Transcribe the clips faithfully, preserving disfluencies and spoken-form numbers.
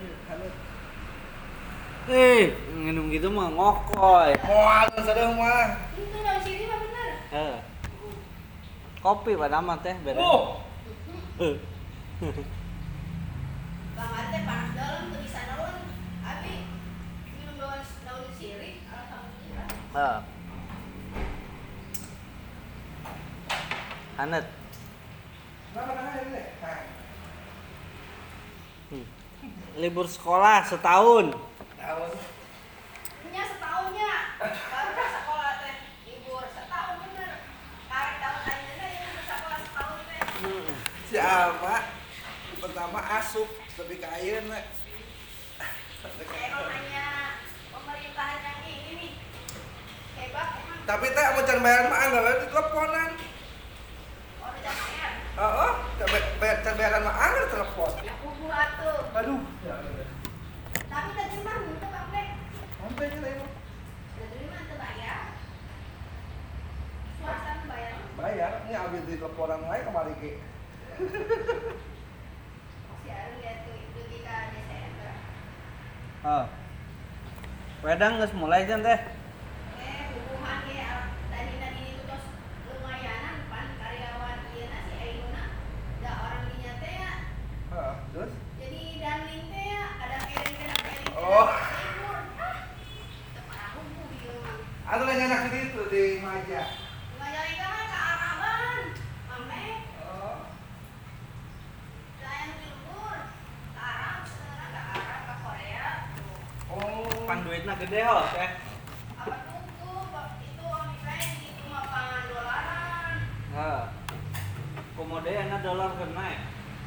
hanut. Eh, minum gitu mah ngokoy. Moal sadeuh mah. Itu daun sirih mah bener. Eh. Kopi pada amat teh beda. Oh. Eh. Bang Arte panas dalam tuh bisa naon. Abi minum daun daun sirih alhamdulillah. Eh. Hanet. Kenapa kan ini? Nah. Hmm. Libur sekolah setahun. Tahun. Nya setahunnya baru sekolah teh libur setahun bener. Karek tahun ayeuna ya libur sekolah setahun teh. Hmm. Siapa? Pertama asup tapi ka ayeuna. Emang hanya pemerintahan yang ini nih hebat emang. Tapi teh mau can bayar mah enggak di teleponan. Oh udah bayar. Heeh, bayar can bayaran mah anggar telepon. Ya kubu atuh. Aduh. Tapi tadi mah itu Bang Nek. Sampai nya lain. Tadi mah teu bayar. Swasta mah bayar. Bayar, ini abis di teleponan wae kemari ge. Si Aru lihat tuh itu di ka Desember. Oh. Wedang geus mulai jan teh. Eh hubungan ge tadi tadi itu tos lumayanan pan karyawan ieu na si Ainuna. Da orang dinya teh ya. Heeh, terus Jadi danling teh ya ada piring-piring piring. Oh. Libur. Ah. Teu parah hungkul ieu mah. atuh lain enak di itu di Maja. Majalengka mah ka Araban. Mame, Oh. saya nu libur. Ka Arab, sekarang ka Arab, ka Korea. Tuh. Oh. Pan duitna gede ho teh. Apa tunggu itu OnlyFans itu mah pan dolaran. Heeh. Komodenya dolar kena ya.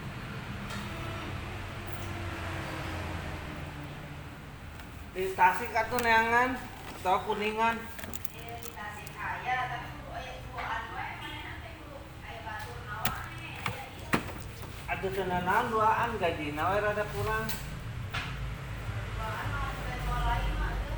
Di Tasik atuh neangan atau Kuningan. Eh di Tasik aya tapi kudu aya duaan wae manehna teh kudu aya batur nawane aya ieu. Atuh tenanan duaan gajina we rada kurang. Duaan mah bukan dua lain mah teu.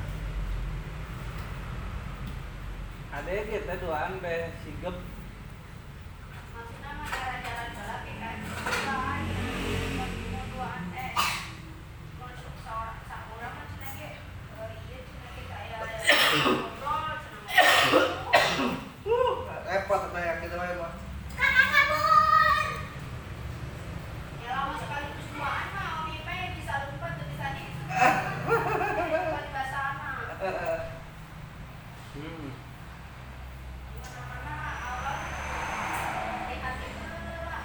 Ade ge teh duaan teh sigep. Maksudna mah jalan-jalan bae ke kan. Lain mau duaan teh. Masuk saurang saurang mah cenah ge eh ieu cenah ge kayak ngobrol cenah. Repot atuh ya kita wae mah. Kakak kabur. Ya lama sekali duaan mah OnlyFans bisa lupa tuh bisa di. Kali bahasa mah. Hmm. Mana-mana Allah lihat itu lah.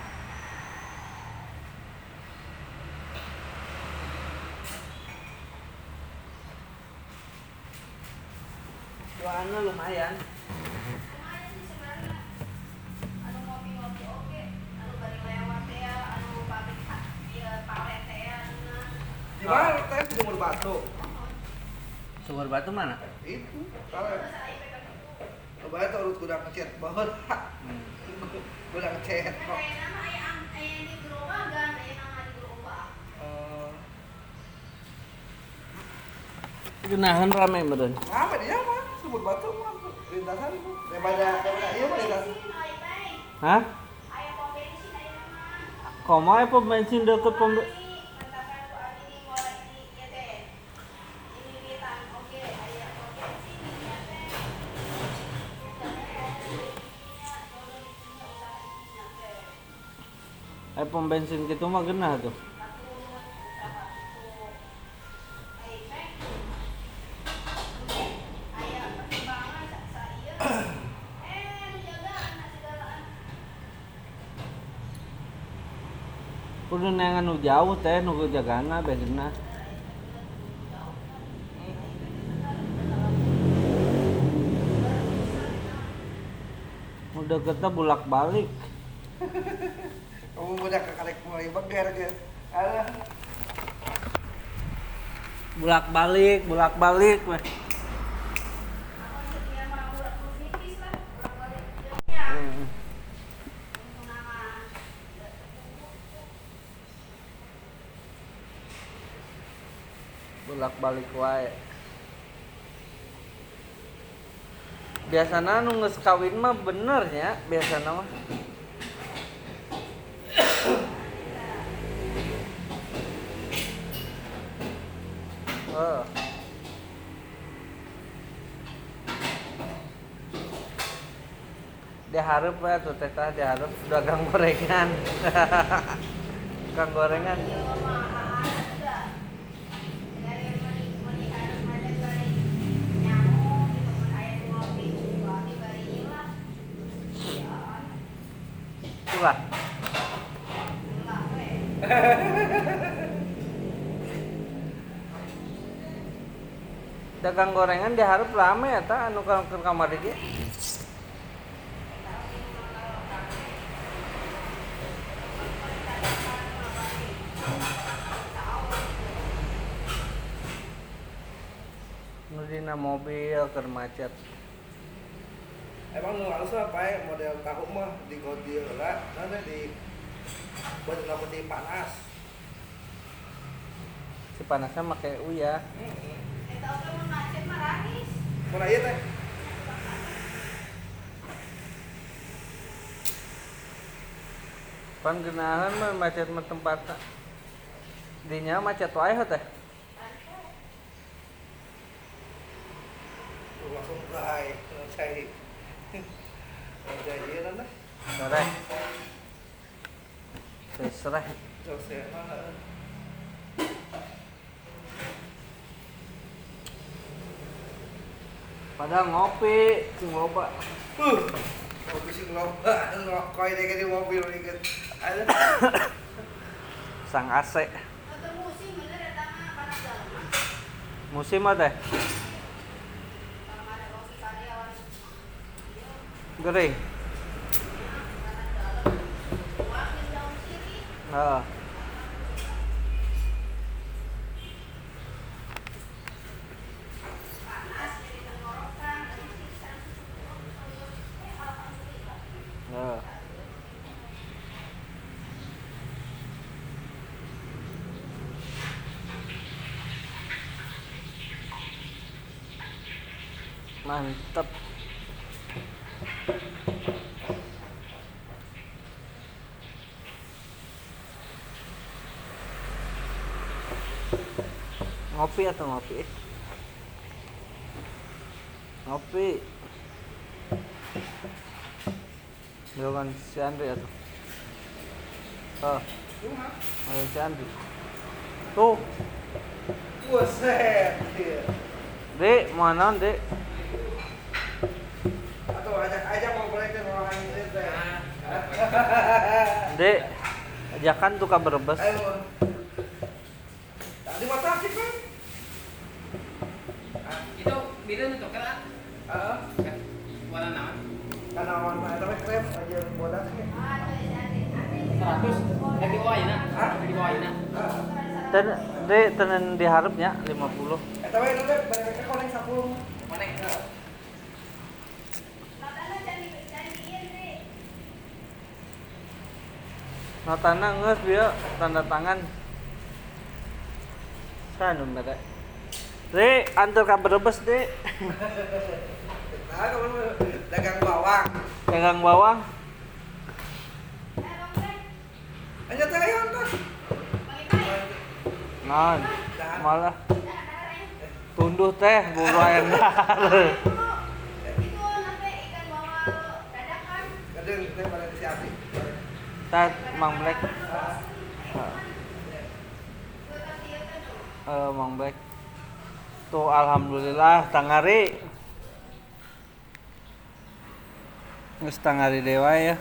Duaanna lumayan. Lumayan sih sebenarnya. Anu ngopi-ngopi oke, anu bari lewat teh ya, anu pabrik ieu palet teh ya anu. Di mana teh di Sumur Batu? Sumber batu mana? Itu, kalau Bahasa I P kan itu. coba itu urut kuda ngechat banget. Hmm. Kuda ngechat Kan kok. aya nama aya am- aya di gerobak aya nama di gerobak. Eh, Geunaheun rame meureun. apa dia mah? Sumur Batu mah lintasan tuh. Daripada daripada ieu mah lintasan. Bensin aya teh. Hah? Aya pom bensin aya nama. Komae pom bensin deket pom be- Katakan ku abi di mulai di ieu teh. Ini litan oke aya pom bensin di ieu teh. eh pom bensin kitu mah geunah tuh. Kudu neangan nu jauh teh nu jagana bensinna. Udah kita bolak-balik. Kamu udah ke kalek mulai beger guys. Alah. Bolak-balik, bolak-balik weh. Hmm. Bolak-balik wae. Biasana nu geus kawin mah bener nya, biasana mah. Oh. Diharap ya tuh teh tah diharap dagang gorengan. Kang gorengan. Iya mah ada juga. Dari meni- melihara ada bari nyamuk gitu mun aya nu ngopi ngopi bari ieu lah. Ya, Itulah. ulah we. Dagang gorengan diharap rame eta anu ka ke kamar ieu. Nu dina mobil keur macet. Emang nu halus apa ya model tahu mah di godi heula, nanti di buat peti panas. Si panasnya make uya. Heeh. Eta oge mun macet mah raris. Mun aya teh Pan geunaheun mah macet mah tempatna. Dinya macet wae teh. tuh langsung gai, cai. Cai ieu nanti. Sore. Sesreh. Selesai mah. Padahal ngopi, sing loba. Uh. Kopi sing loba ngokoi deh di mobil inget. Ada. Sang A C. Eta musim bener eta mah panas dalam mah. Musim mah teh Kalau ada kopi karyawan. Ieu gering. panas dalam. Wakil daun sirih. Heeh. Panas jadi tenggorokan dan siksa. Eh alhamdulillah. Heeh. Mantep. Ngopi atau ngopi? Ngopi. Dengan si Andri atau? Oh, ada si Andri. Tuh, Buset. Iya. Dek, mana Dek? Atau ajak aja mau balikin orang ini teh. Dek, ajakan tuh kabar Brebes. Ayo. Tadi mata sih kan? Itu beda untuk kan? Heeh. Warna naon? Karena warna tapi krem aja bodas nih. Ah, tuh jadi ada seratus lagi bawah ya, Nak? Hah? Lagi bawah ya, Nak? Heeh. Dan Dek tenen diharapnya lima puluh. Eh tapi itu teh mereka konek sepuluh. Mana? Notana jadi jadi ieu deh. Notana geus dia tanda tangan. Sanu mere. Dek, antar ka Brebes, Dek. Nah, kamu dagang bawang. Dagang bawang. Eh Bang Brek, Aja teh ayo tos. bagi-bagi. Naon? Malah Dah ada ya. tunduh teh buru ayam dahar. Itu nanti ikan bawal dadakan. Kadang teh pada disiapin. Tat Mang Black. Gue kasih ieu kan tuh. Eh, Mang Black. Tuh alhamdulillah tangari. Geus tangari dewa ya.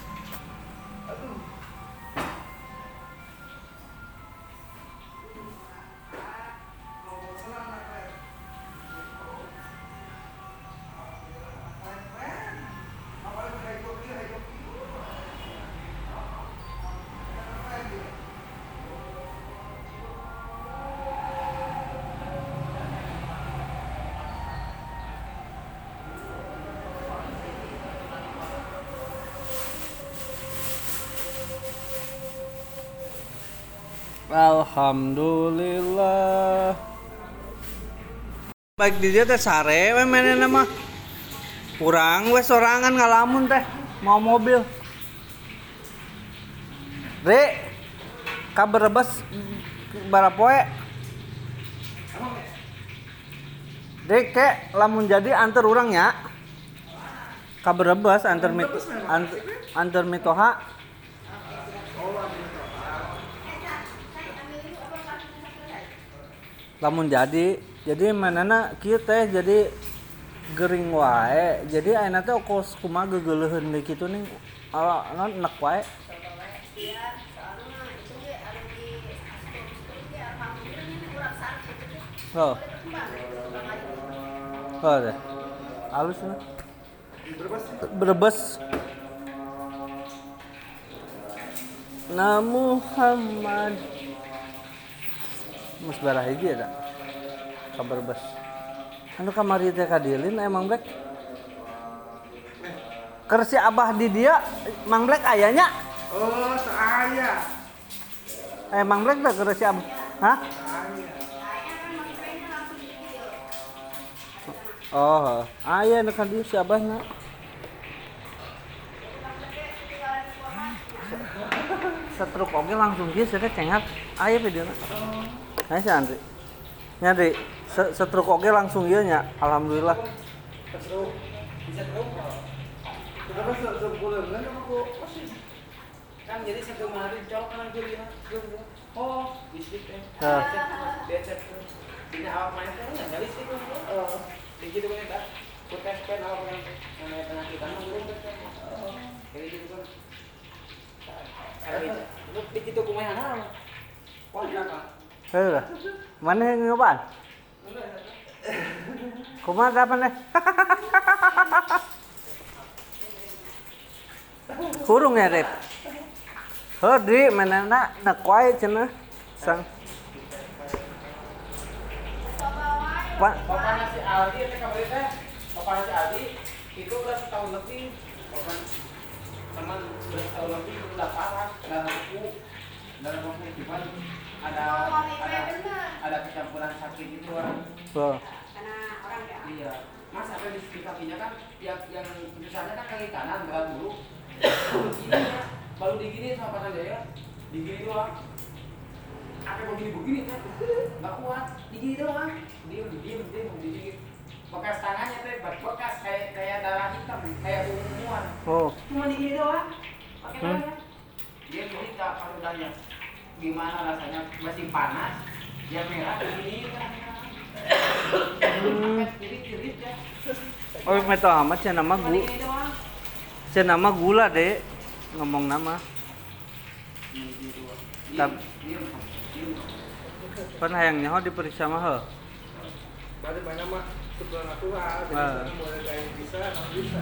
Alhamdulillah. Baik di dia teh sare we menena mah. Kurang we sorangan ngalamun teh mau mobil. Dek, ka Brebes barapoe. Emang ya? Dek kek lamun jadi antar urangnya. Ka Brebes antar mit antar, antar mitoha. Lamun jadi jadi manana kieu teh jadi gering wae. Jadi ayeuna teh kos kumaha geugeuleun deui kitu ning ala non enak wae. Iya, soalnya mah itu ge anu di astor-astor ge alhamdulillah ini urang sareng gitu. Oh. Oh deh. Halus lah. Brebes. Na Muhammad. Mus barah hiji ada. Ka Brebes. Anu kamari teh kadilin emang Black. Keur si Abah di dia Mang Black ayanya. Oh, saya. Eh Mang Black teh keur si Abah. Hah? Oh, aya nu kan dieu si Abahna. Setruk oge langsung kieu cenah cengat. Aya videona. Aya si Andri. Nya Dri, setruk oge langsung ieu nya. Alhamdulillah. Setruk. Bisa terus. Kenapa sebulan kan aku Kan jadi satu hari colok kan jadi oh listrik teh. Heeh. Dia cek ini awak main teh enggak listrik kan. Oh. Begitu kan tak. Putus pen awak yang namanya penyakit kan belum oh. Jadi gitu kan. Lu begitu kumaha hana. Wah, apa? Heuh. Mana yang nyobaan? Kumaha dapan deh? Kurung ya, Dep. Heuh, Dri, manana nak wae cenah. Sang. Pak, Bapaknya si Aldi teh kamari teh. Bapaknya si Aldi itu udah setahun lebih. Bapak teman udah setahun lebih udah parah dalam buku dalam buku cuman ada ada ada kecampuran sakit itu orang. oh. Karena orang ya. Iya. Mas apa di, di kakinya kan yang yang tulisannya kan kaki kanan berat dulu. Begini ya, baru digini sama pasan dia digini doang. Apa begini-begini kan? Enggak kuat, digini doang. Diem, diem, diem, diem. Bekas tangannya teh bekas kayak kayak darah hitam, kayak unguan. Oh. Cuma digini doang. Pakai Hmm. tangannya. Dia cerita pas udahnya gimana rasanya masih panas, dia merah begini kan. Hmm. Jadi jerit ya. Oh, meto amat cenah mah Cuma gu. digini doang. Cenah mah gula, Dek. Ngomong nama. Tap- Pan hayang nyaho diperiksa mah heuh. Bade banyak mah sebulan aku ah, jadi Ah. sekarang mulai kayak bisa, nggak bisa.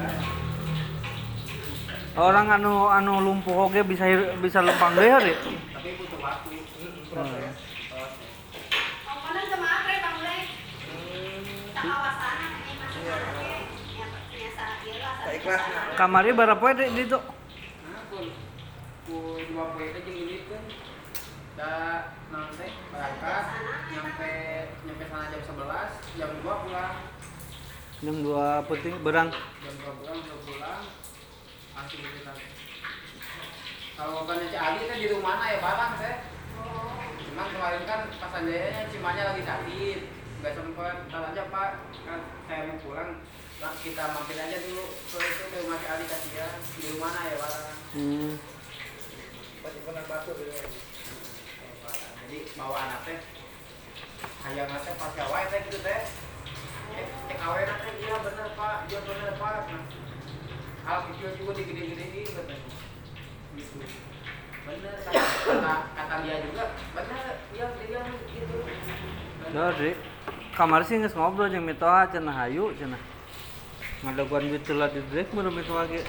Orang anu anu lumpuh oge bisa hir- bisa lempang deui Dek. Tapi butuh waktu. Proses. Komponen kemarin Bang Lek. Tak kawasan ini masih pakai yang biasa ieu lah. Tak ikhlas nah. Kamari berapa poe Dek di itu? Nah, pun pun dua poin aja gini kan. Da nanti berangkat nyampe nyampe sana jam sebelas, jam dua pulang. Jam dua penting berang. Jam dua pulang udah pulang. Langsung gitu kan. Kalau bukannya Cik Ali kan di rumah mana ya barang saya. Cuman kemarin kan pas anjayanya cimanya lagi sakit, nggak sempet. Ntar aja Pak, kan saya mau pulang. Lah kita mampir aja dulu ke itu ke rumah Cik Ali kasihan. Di rumah mana ya barang. Hmm. Masih pernah batu gitu. Jadi bawa anak teh hayang teh pas gawe teh gitu teh cek cek awe teh iya bener Pak iya bener Pak nah, hal kecil juga digede-gedein katanya gitu bener kata, kata, kata dia juga bener iya dia gitu Nah, Dek. Kamari sih geus ngobrol jeung mitoha cenah hayu cenah. Ngadaguan duit teula di drek baru mitoha ge.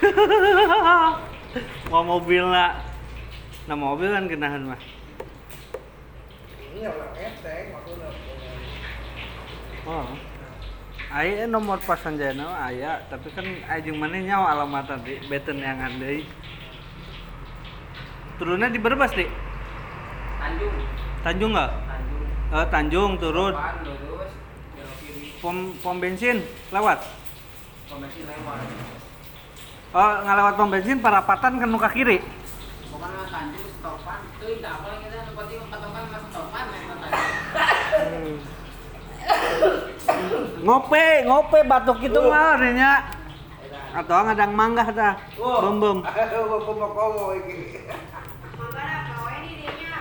Mau mobilna. Nah mobil kan genahan mah. Ini orang enteng maksudnya. Oh. Aya nomor pasan jana aya, tapi kan aya jeung maneh nyawa alamat tadi beten yang deui. Turunnya di Brebes, Dik. Tanjung Tanjung enggak? Tanjung Eh, Tanjung turun. depan lurus belok kiri Pom pom bensin lewat. komisi lewat Oh, ngalewat pom bensin parapatan ke nuka kiri. pokoknya Tanjung stopan tuh tidak apa kita seperti empat orang masuk stopan memang Tanjung Ngope, ngope batuk itu mah nya. Atau ngadang manggah dah. Bem-bem. Aku mau kowo iki. Makanya kau ini dianya.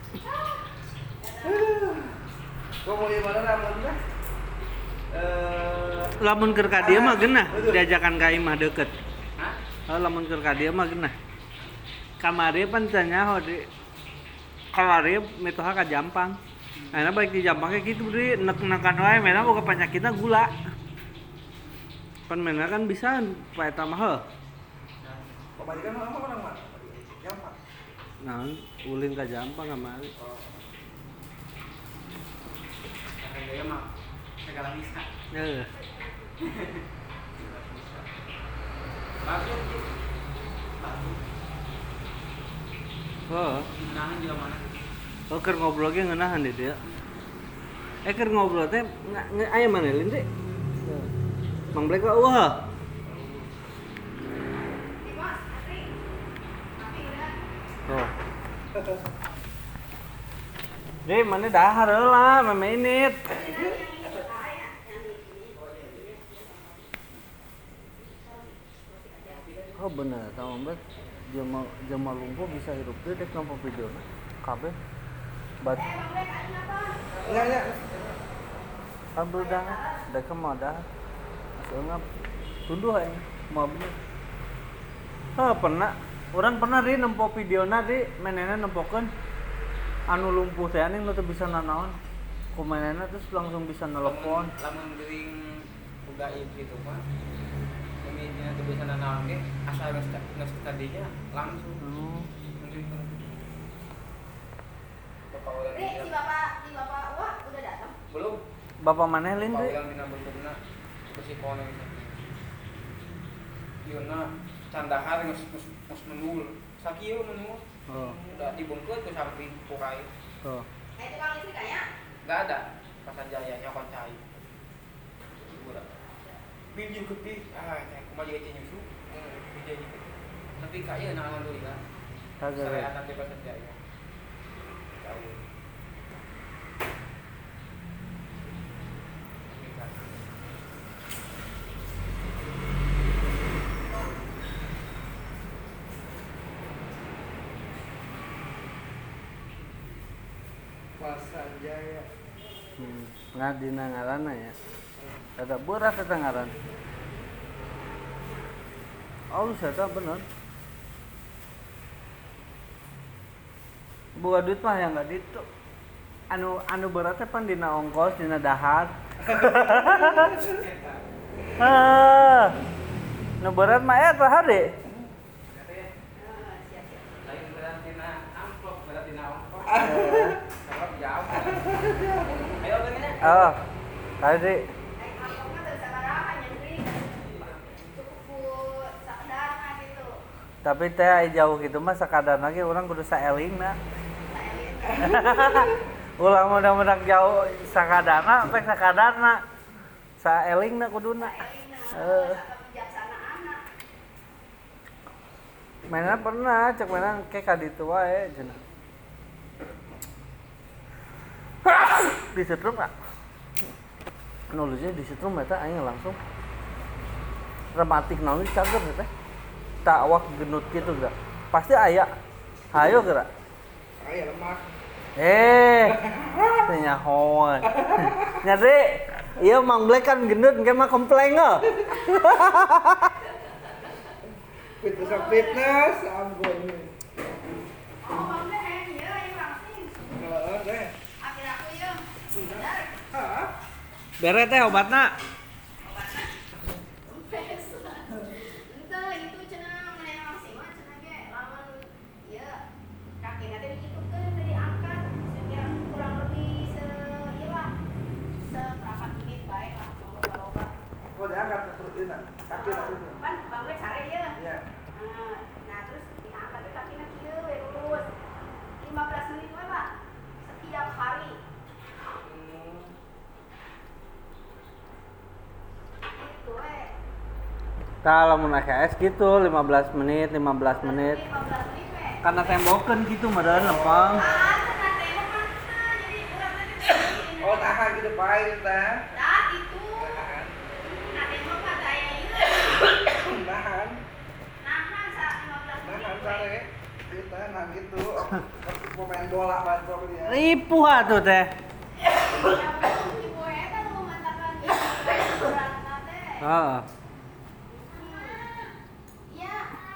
Kau mau di mana namun dah? Eh, Lamun keur ka dieu mah geunah diajakan ka imah deukeut. Hah? Oh, lamun keur ka dieu mah geunah. Kamari pan cenah di kamari mitoha ka Jampang. Ayeuna baik di Jampang kayak gitu beri nek-nekan wae mena boga penyakitna gula. Pan mena kan bisa pae eta mah heuh. pemadikan mana orang mah? Gampang. Nah, ulin ka Jampang kamari. Yang gaya mah segala bisa. Heeh. Bagus sih. Bagus. Oh, Menahan juga mana? oh keur ngobrol ge ngeunahan di dieu. Eh keur ngobrol teh aya mana lin teh? Mang Black wa wah. Di bos, Atri. Tapi udah. Oh. Deh, mana dahar heula memenit. Oh bener, tahu mbak, jema jema lumpuh bisa hidup tuh dek nampak video na, kabeh, bat, Enggak, enggak. ambil dah, dek mau dah, soalnya tunduh aja, mau bener. Ah pernah, orang pernah di nempo video na di, menena nempokan, anu lumpuh teh ane nu teu bisa nanaon, ku menena terus langsung bisa nelpon. Lamun geuring gaib gitu mah. Pemimpinnya tuh bisa nanaon ge asal geus geus tadinya langsung. Hmm. Bapak ulang Ri, si bapak, si bapak Wah udah datang. belum. Bapak mana lin Bapak deh? ulang dina bentukna ke si kono gitu. Yeuna candahar geus geus geus menul. Sakieu menul. Oh, Udah dibungkeut ke samping pukai. oh. Eh itu kang listrik kayaknya. Enggak ada. Pasan Jaya nyokot cai. Udah. Pinjam kepi, ah, saya kumaha juga nyusu. Hmm, pinjam gitu. Tapi kaya nah alhamdulillah. Kagak. Saya akan di Pasan Jaya. Tahu. Pasan Jaya. Hmm. Nah dina ngaranna ya. Ada berat eta ngaran. Oh, saya bener. Buka duit mah yang enggak ditu. Anu anu beratnya pan dina ongkos, dina dahar. Ah. Nu berat mah eta hade. Lain berarti na amplop, berarti na ongkos. Kalau jauh. Ayo gini. Oh. Tadi Eh amplopnya tuh sabaraha nyentri. Cukup buat sadarna gitu. tapi teh aya jauh gitu mah sakadar lagi orang kudu saelingna. Ulang mudah-mudahan jauh sakadarna, pek sakadarna. Saelingna kuduna. Heeh. Kebijaksanaan. Mainan pernah, cek mainan kayak kaditu wae cenah. Disetrum enggak? Nulisnya disetrum eta aing langsung. Rematik naon cager teh. Tak awak genut gitu geura. Pasti aya. Hayo geura. Aya lemak. Eh. Teh nyahoan. Nyari, iya Mang Black kan gendut engke mah kompleng heuh. Fitness fitness ampun. Oh, bangga eh ieu yang langsing. Heeh, deh. Akhir aku ieu. Bener. Hah? Bere teh obatna. Ente itu cenah mana yang langsing mah cenah ge lamun ieu kakina teh dikitukeun teh diangkat sekira kurang lebih se ieu lah seperempat menit bae lah loba-loba. Oh, diangkat ke perut ini. Kaki kaki. Kan bangga sare ieu. Iya. Nah, nah terus diangkat teh kakina kieu we lurus. lima belas menit we lah setiap hari. Itu we. Tah lamun A K S gitu lima belas menit, lima belas menit. lima belas menit we. Karena tembokeun gitu meureun lempeng. Ah, cenah tembok mah nah, jadi urang teh Oh, tahan gitu baik teh. dah itu. sare. Kita nang gitu. Pemain bola main bola dia. Ripuh atuh teh. Ibu eta lu mantakan ibu beratna teh. Heeh. Iya.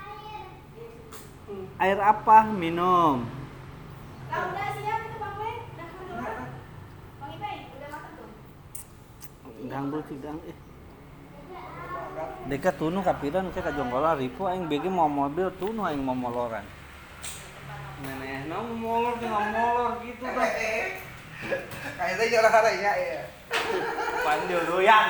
Air apa? Minum. Lah udah siap itu Bang Le. Udah udah. Bang Ipay udah makan tuh. Dang bro tidang eh. Deka tunu kapiran ke kajonggolan ripuh aing bege mau mobil tunu aing mau moloran. Neneh na molor dengan molor gitu tah. Kayaknya jalan haranya ya. Pandio doyan.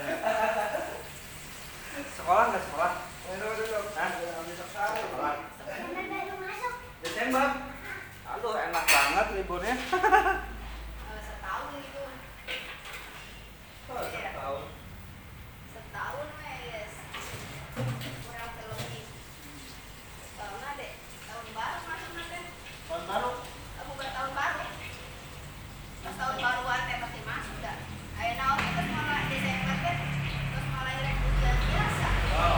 Sekolah enggak sekolah? Aduh aduh aduh. Hah? Sekolah. Bener lu masuk. Desember. Aduh enak banget liburnya. Eh, setahun itu. Setahun. Setahun wes. Kurang terlebih. Tahun ada. Tahun baru masuk nanti. Tahun baru. Eh, bukan tahun baru. Pas tahun baruan teh pasti masuk dah. Ayo naon terus malah Desember kan. Terus malah irek ujian biasa. Wow.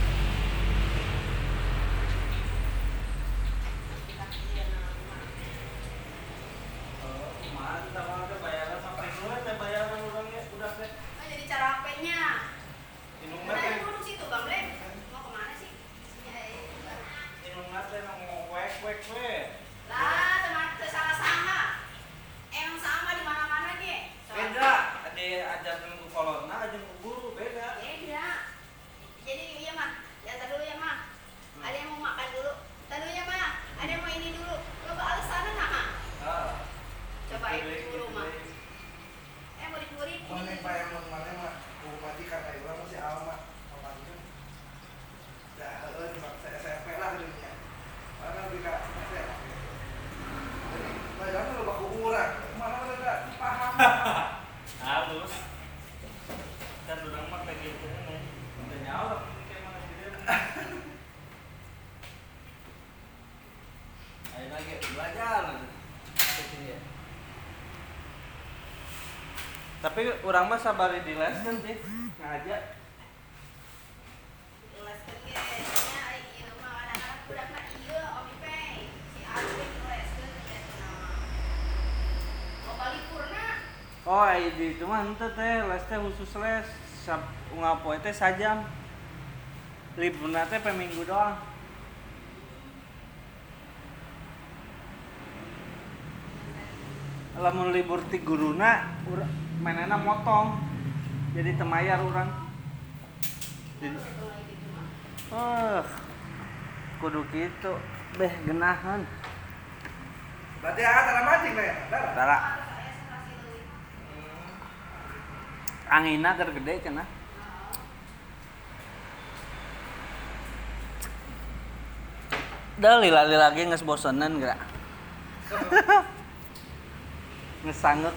Kita ujian nama. Oh, mantap ada bayaran sampai dulu teh bayaran orangnya udah teh. Nah, jadi cara apenya? Minum Nah, teh. duduk situ Bang Le. Mau kemana sih? Ya, ya. Minum teh nang wek-wek we. Lah, teman teu salah sama. Emang sama di mana-mana ge. Beda, ada ajaran ku kolonna, ajaran ku guru beda. Beda. Jadi iya mah, ya tar dulu ya mah. Ada yang mau makan dulu. Tar dulu ya mah. Ada yang mau ini dulu. Coba alasannya nah mah. Ah. Coba itu dulu mah. Eh mau dicuri. Mau nih Pak yang mana mah? Ku majikan ayo urang masih alma. Alma. Dah heueun saya S M P lah dunia. Mana bisa S M P. Jadi, bayarnya lo baku urang. Mana ada paham. Halus. Dan urang mah kayak gitu nih. Udah nyawa kayak mana sih. Ayo lagi belajar. Kesini ya. Tapi orang mah sabar di les kan sih. Ngajak. Leskeun ge. Nya ieu mah anak-anak budak mah ieu Om Ipay. Si Alvin leskeun teh nama. Mau balik purna. Oh, di itu mah henteu teh les teh khusus les. Sab ngapoe teh sajam. Liburna teh pe minggu doang. Lamun libur ti guruna, ura- manehna motong. Jadi temayar urang. Jadi, eh, kudu kitu. Beh genahan. Berarti ah tara mancing nih. Tara. Tara angina keur gede cenah. Da lila-lila lagi geus bosenan geura. Geus sangeuk.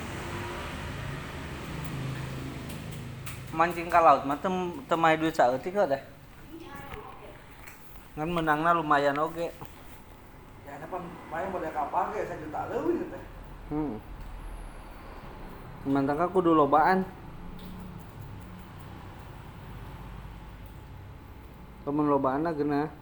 Mancing ka laut mah teu teu mae duit saeutik teh. Ngan menangna lumayan oge. Ya depan main model kapal ge satu juta leuwih teh. Hmm. Mantangka kudu lobaan. Lamun lobaanna geunah.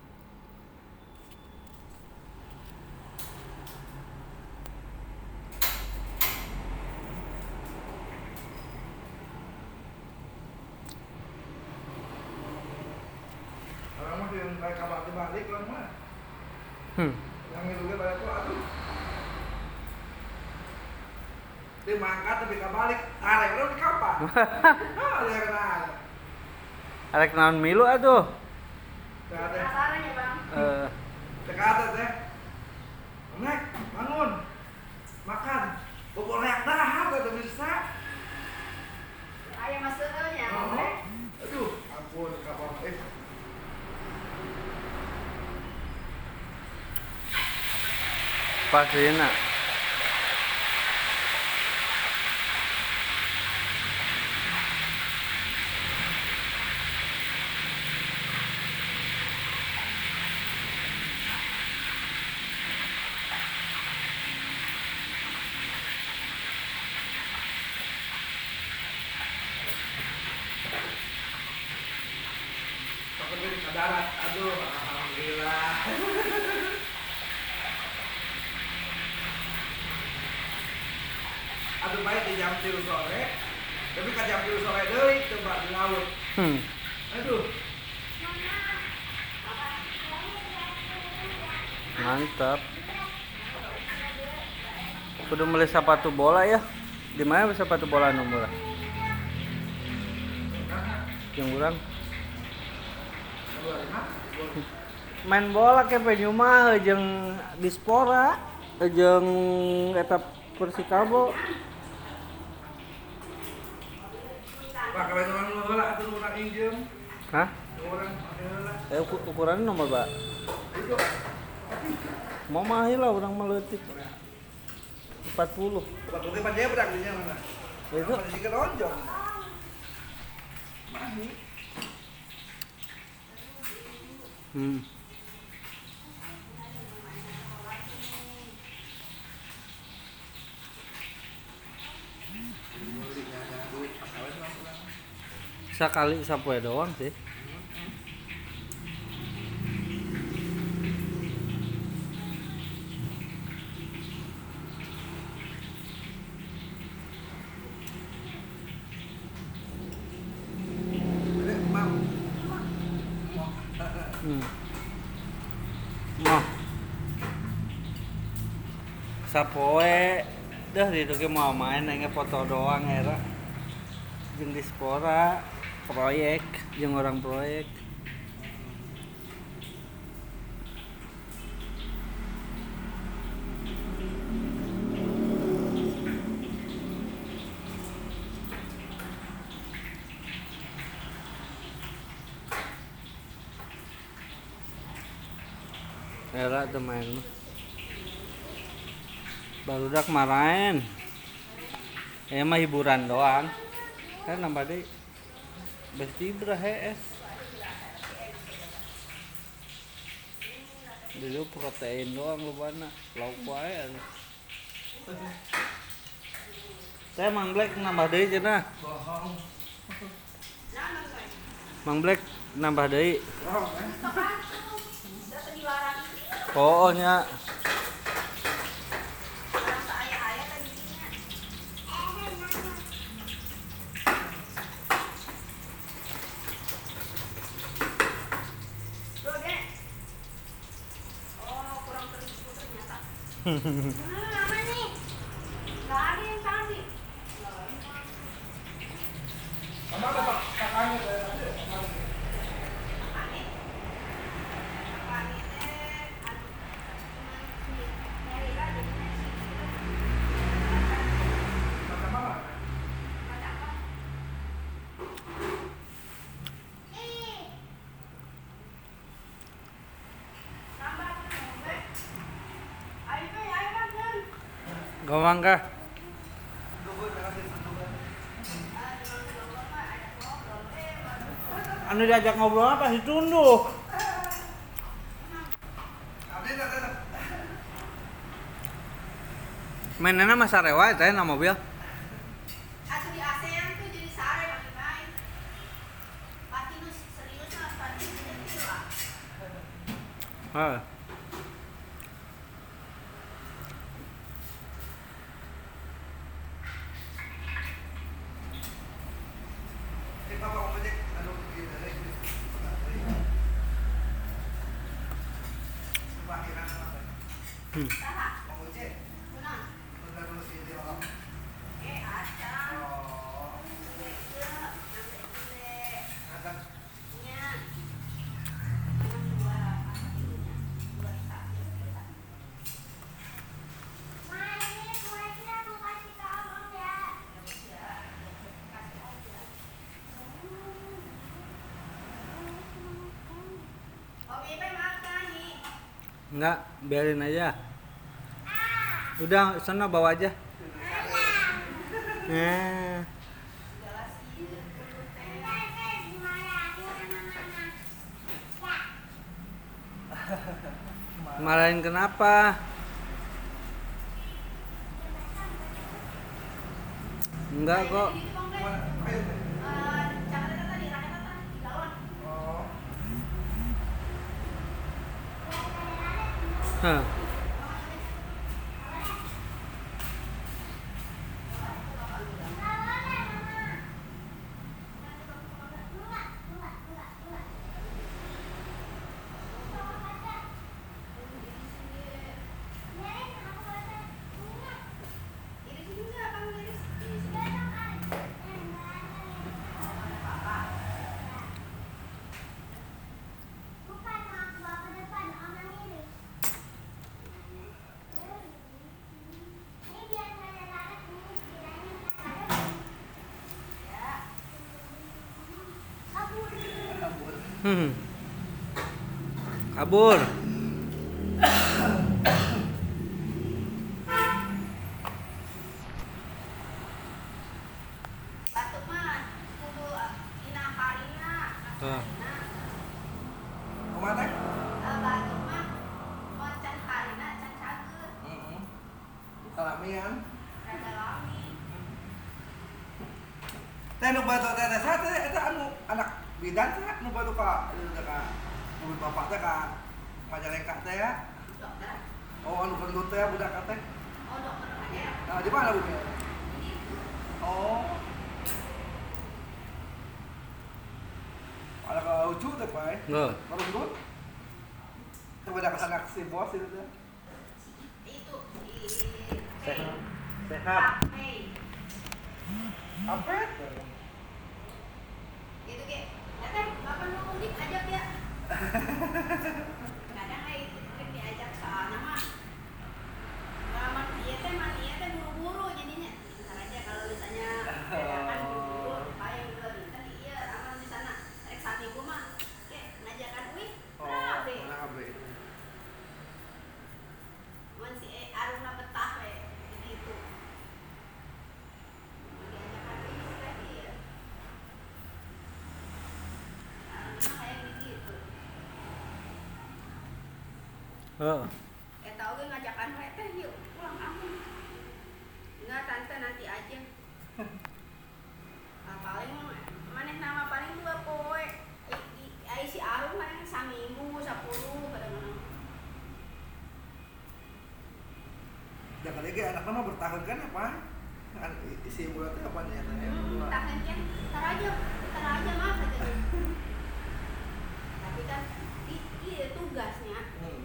Orang mah yang kayak kapal dibalik orang mah. Hmm. Yang itu ge balik tuh aduh. Dia mangkat tapi kabalik, arek urang di kapal. Ah, dia kenal. Arek naon milu atuh. Teu ada. Penasaran ya Bang? Eh, Teu ka atas teh. Nek, bangun. Makan. Bobol reak dahar teh bisa. Ayah masuk nya. Oh. Aduh, ampun kapal eh. pasina. Pakai ke darat. Aduh, alhamdulillah. Aduh baik di jam tiga sore. Tapi kan jam tiga sore deui coba di laut. Hmm. Aduh. Mantap. Kudu beli sepatu bola ya. Di mana sepatu bola nu murah? Yang kurang main bola ke penyu mah jeung Dispora jeung eta Persikabo. Pak kalau orang bola atuh urang injem. Hah? Orang heula. Eh uku- ukurannya nomor berapa? Itu Mau mahal lah orang meleutik. empat puluh. waktu ke dia bedak dinya mana? Itu Apa sih lonjong? Mahi. hmm. Sekali sapoe doang sih. Hmm. Mah. Sapoe dah di ditu mau main nanya foto doang era. Jeung Dispora proyek jeung orang proyek. Era teman mah. Barudak marahin. Eh mah hiburan doang. Kan nambah deui. Besti berah es. Dulu protein doang lobana, lauk wae anu. Teh Mang Black nambah deui cenah. Bohong. Mang Black nambah deui. Bohong kan? Udah dilarang. Oh nya. Orang saya-saya tadinya. Tuh, Dek. Oh, kurang terigu ternyata. Hmm, apa nih? Nggak ada yang tadi. Sama ada Pak kakaknya saya tadi. Apa nih? Apa nih, Dek? Aduh, cuman nyari lagi. Macam apa? Ada apa? Nambah tuh, Dek. Ayo, Dek, ayo, Bang, Bang. Gawang kah? Tunggu jangan ditunggu. Anu diajak ngobrol apa sih tunduk? Abdi dah dah. Mainannya mah sarewa teh na mobil. Atuh di ASEAN tuh jadi sare bagi main. Pati nu serius mah pati nyetir lah. Heeh. Ini Bapak mau ngecek. Aduh, gitu deh. Coba kira apa? Hmm. Saha? Mau ngecek. Kunaon? Benar dulu sih dia orang. Eh, acan. Oh, Gede, gede, gede. akan Nya. Yang dua apa ininya? Dua satu. Ma, ini kuenya aku kasih ke abang ya. Ya udah, kasih aja. Om Ipe makan nih. Enggak, biarin aja. Udah, sana bawa aja. Eh, marahin kenapa? Enggak kok. mana? Ayo. Oh, Hah. Hmm. Kabur. Batuk mah kudu ina kalina. Ah. Kemana? Eh, batuk mah mau can kalina can cageut. Heeh. Kalamian. Rada lami. Teh nu batuk teh teh sate eta anu anak bidan teh nu batuk ka ieu teh ka nu bapak teh ka Majalengka teh ya. Dokter. Oh anu gendut teh budak teh. Oh dokter ada. Nah, di mana Bu? Ini Oh. Ada ka lucu teh Pak. Nggak. Baru gendut. Teu budak anak si bos itu teh. itu di Sehat. Pay. Sehat. Pay. Ampet. Itu ke, ya teh, bapak mau mudik ajak ya. Kadang kayak itu sering diajak soalnya mah. Lama dia teh mah dia teh buru-buru jadinya. Ntar aja kalau misalnya dadakan buru-buru, kayak yang dua bintang iya, amal di sana. Rek saat minggu mah, ke ngajakan wih, Oh, kenapa? mana abe? Man si E Aruna betah we, gitu. Diajakan wih, sudah iya. Aruna kayak gitu. Oh. Eh tau gue ngajakan we teh yuk pulang kampung. Enggak tante nanti aja. Ah, paling maneh nama paling dua poe. Ai si Arum kan saminggu sepuluh kadang-kadang. Jangan lagi anak mah bertahun kan apa? Kan isi bulan teh apa nya teh? Hmm, tahan kan, ntar aja, ntar aja mah katanya. Tapi kan i- iya tugasnya. Hmm.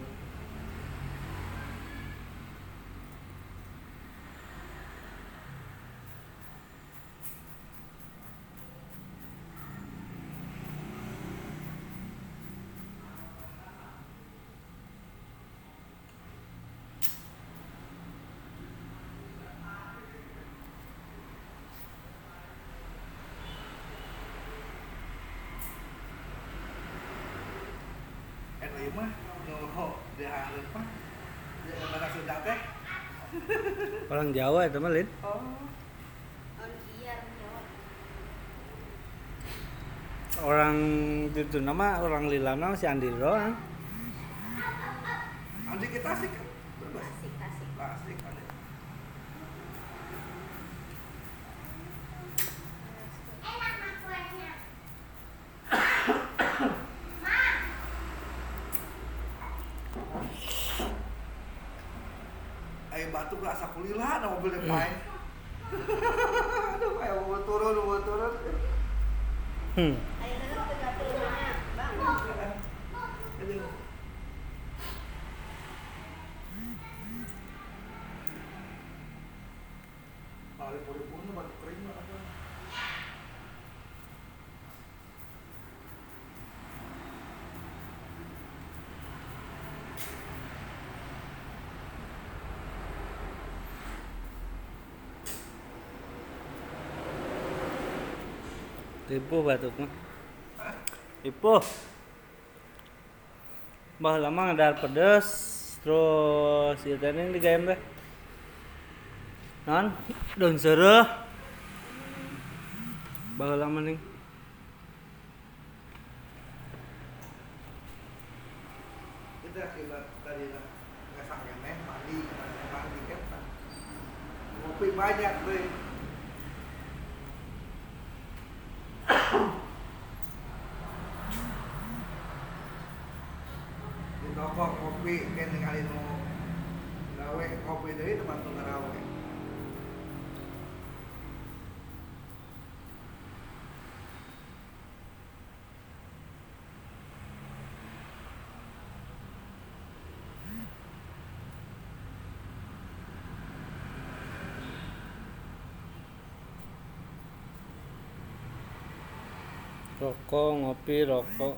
Eta ieu mah nu dihareup mah. Dia mana Sunda teh? Orang Jawa itu mah, Lin. Oh. On iya jawab. Orang itu nama orang Lilana si Andi doang. Andi kita sih kan. Bebas. Asik asik. Asik kan. Enak mah kuahnya. Ayo batuk gak asa kulila na mobil depan. Aduh, kayak mau turun, mau turun. Hmm. Ayo dulu ke dapur rumahnya, Bang. Aduh. Kali puri-puri batuk kering mah apa? Tipu batuk mah. Tipu. Bah lama ngadar pedes terus ieu teh ning digayem teh. Non, daun seureuh. Bah lama ning. Itu akibat tadi lah nggak sampai neh mandi, nggak mandi kan. Ngopi banyak deh. Di toko kopi kan ningali nu gawe kopi deui tempat nu ngarawe. Rokok, ngopi, rokok.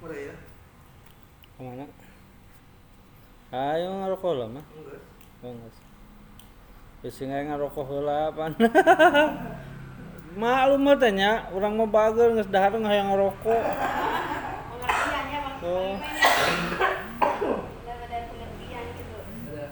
Udah ya? Kemana? Ayo ngerokok lah mah. Enggak. Oh enggak. Wis sing ngerokok heula pan. Maklum mah tanya, urang mah bageul geus dahar ngahayang ngerokok. Pengertian ya bang. Oh. Nggak ada pengertian gitu. Ada.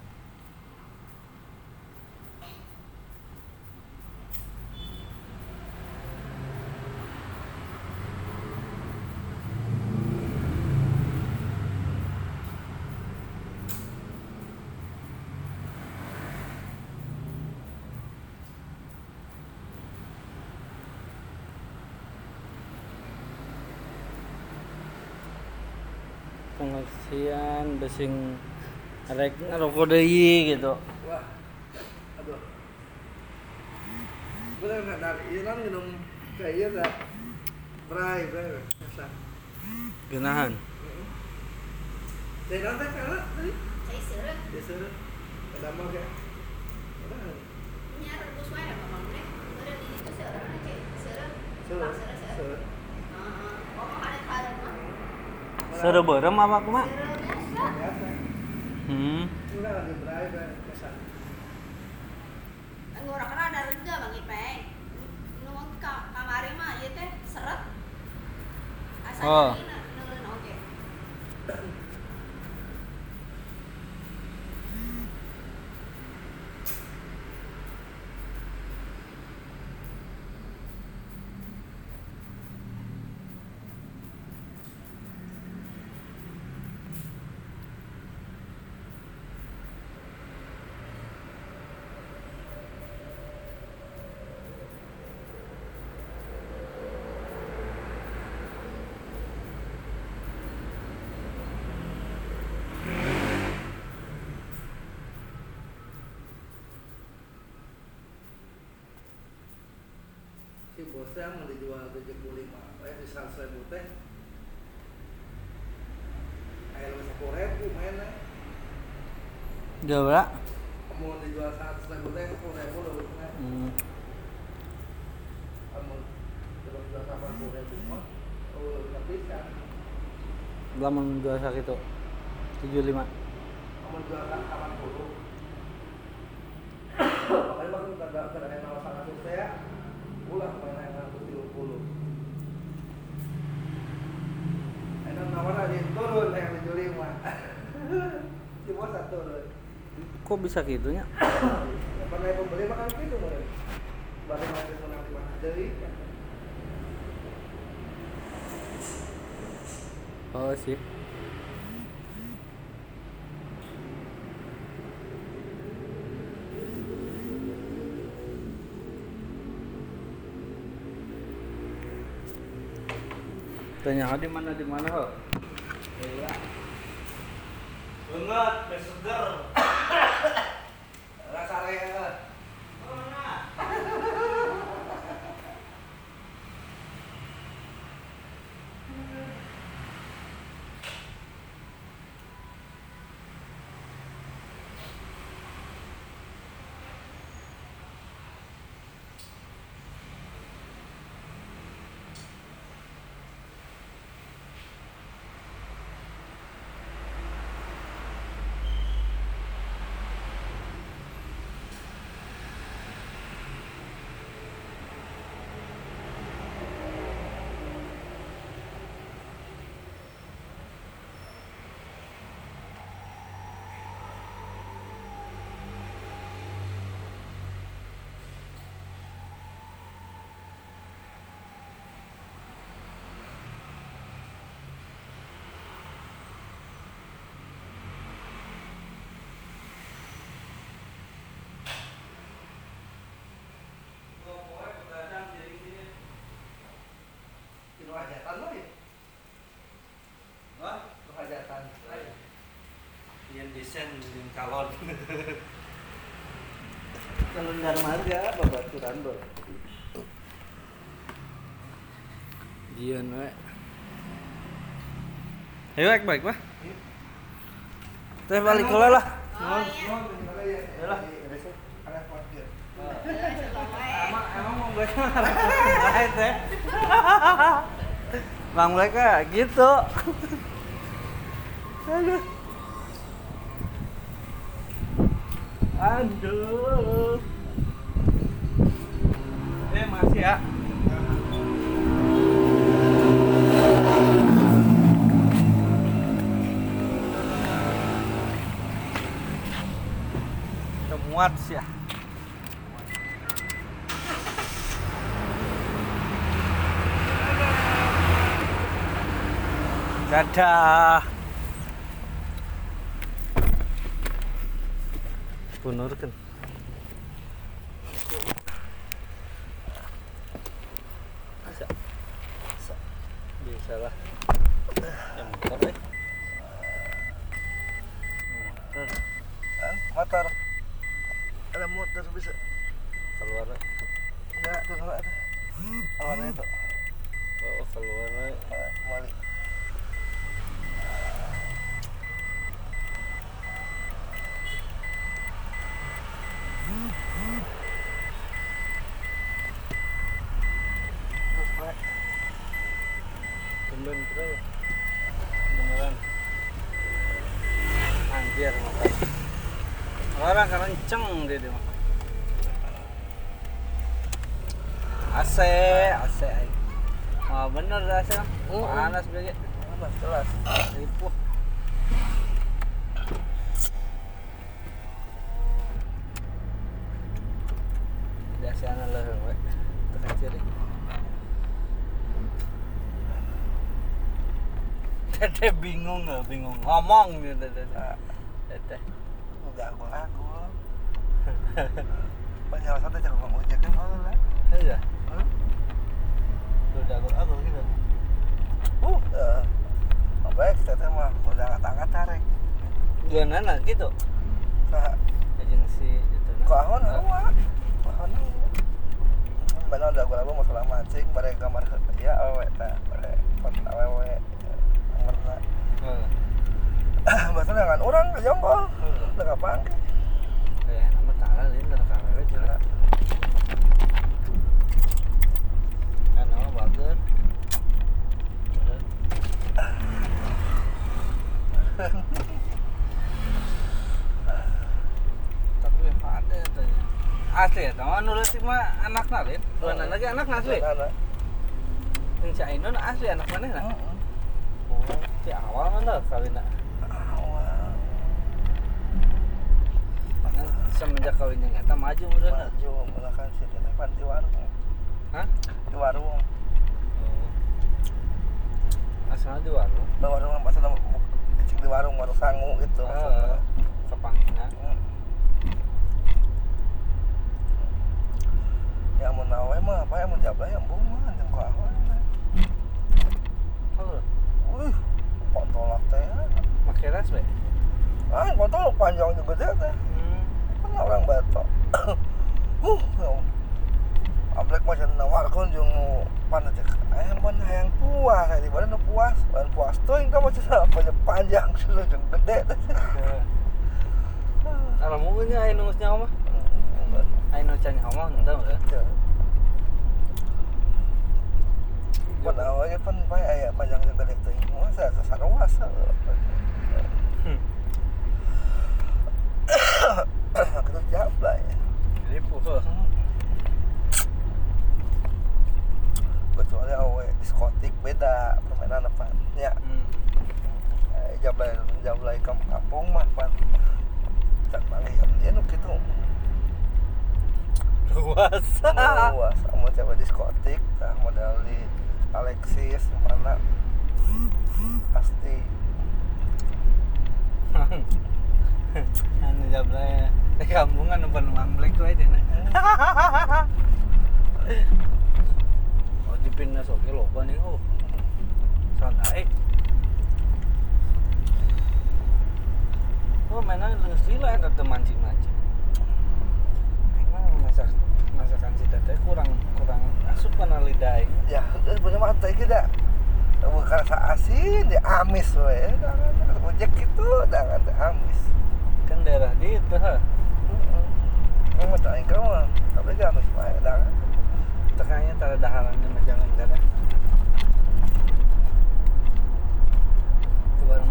Pengertian besing rek ngerokok deui gitu. Wah. Aduh. Gue nggak dari Iran minum kayak iya tak. Bray, bray. Bisa. Geunahan. Dari nanti karena tadi. Saya seret. Disuruh. Ada mau kayak. Udah. Ini rebus wae ya bang. Udah di situ seret aja. Seret. Suruh. Bang, seret seret. Suruh. Heeh. Oh ada parah mah. Seureuh beureum apa kumaha? Seret biasa. Biasa. Hmm. Udah lagi bray, bray. Bisa. Ngurang ada reda bang Ipeng. Nu ka kamari mah ieu teh seret. Asa Oh. neuleun oge. Si bosnya mau dijual tujuh puluh lima, eh di seratus ribu teh. Kayak lu sepuluh ribu mainnya. Jauh lah. Mau dijual seratus ribu teh sepuluh ribu lu main. Hmm. Kamu terus jual delapan puluh ribu mah, oh nggak bisa. Lamun jual sakitu tujuh puluh lima. Kamu jual kan delapan puluh. Makanya bang kada kada yang nawas seratus teh ya, ulah main yang seratus tujuh puluh. Enak nawar aja turun yang tujuh puluh lima. Si bos satu turun. Kok bisa gitunya? Pernah pembeli makan gitu mulai. Baru masih menang di mana jadi. Oh sih. Tanya di mana di mana ho? Iya. Banget, seger. Rasa rea. Itu hajatan lo ya? Wah, Itu hajatan. yang desain yang calon. Calon darmaga babaturan bro. Dian we. Ayo ek baik mah. Teh balik heula lah. Oh iya. Yalah, ada parkir. Selalu wae. Emang emang mau gue marah teh. Bang mereka gitu. Aduh. Aduh. Eh masih ya. Muat sih ya. Dadah. Punurkan. Bisa. Bisa. Bisa lah. Ya motor eh. Motor. Motor. Ada motor bisa. Keluar. Enggak, tuh kalau ada. Awan itu. Oh, keluar. Balik. Tumben terus. Beneran. Anjir motor. Orang kenceng dia dia. A C, A C. Wah bener A C. Panas banget. Panas kelas. Ripuh. Biasanya lah we. Tekan ciri. Tete bingung nggak bingung ngomong gitu tete. Tete. Enggak aku aku. Banyak satu cakap ngomong ojek kan mau lah. Iya. Udah aku aku gitu. Uh, eh. Baik, kita mah udah angkat-angkat tarik. Dua nana gitu. Nah, Agensi itu. kok ahon hawa. Ahon. Benar udah gua masalah mancing bare gambar ya awe teh, bare foto awewe. Nomorna. Heeh. Bahasa dengan orang ke jongkol. Udah kapan? Eh, nama tara lain dari kamera cina. Kan nama bagus. Tapi ada tanya. Asli ya, tahu nulis mah anak nalin. Dua anak lagi anak asli. Anak. Yang si Ainun asli anak mana nak? Oh, si awal mana kawin nak? Awal. Kan semenjak kawinnya nggak maju udah nak. Maju melakukan si telepon di warung. Hah? Di warung. Oh. Asalnya di warung. Di warung pas ada cek di warung warung sangu gitu. Ah, kepangnya. Ya mau nawe mah apa ya mau jabla ya embung mah jeung ku ahon. Halo. Wih, kontolak teh. Make ras be. Ah, kontol panjang juga teh teh. Hmm. Kan orang Batok. Huh, ya. Ablek mah cenah nawarkeun jeung pana cek aya mun hayang puas, aya di badan puas, badan puas teuing ka mah cenah panjang panjang cenah jeung gede teh. Kalau mau nya aya nu nyawa mah. Aya nu can nyawa henteu ya. Pan awalnya pan bae aya panjang jeung gede teuing. Masa sasaruas. Kita jabla ya. Ripuh. Kecuali awe diskotik beda permainan apa ya. Hmm. Eh, jablay jablay kampung mah pan tak malih dia nu kitu. Luas. Luas mau coba diskotik tah modal di Alexis mana pasti Anu jablay di kampungan nu penuh amblek we cenah. Oh dipindah soke loba nih oh. Santai. Oh mainan leus sila eta teu mancing-mancing. Aing mah masak masakan si teteh kurang kurang asup kana lidah aing. ya bener mah teh kita bukan sa asin di amis we jangan ojek gitu jangan teh amis. Kan daerah di itu ha. Heeh. Emang teh aing mah tapi kan amis mah jangan. Tekannya tara daharan di jalan kada.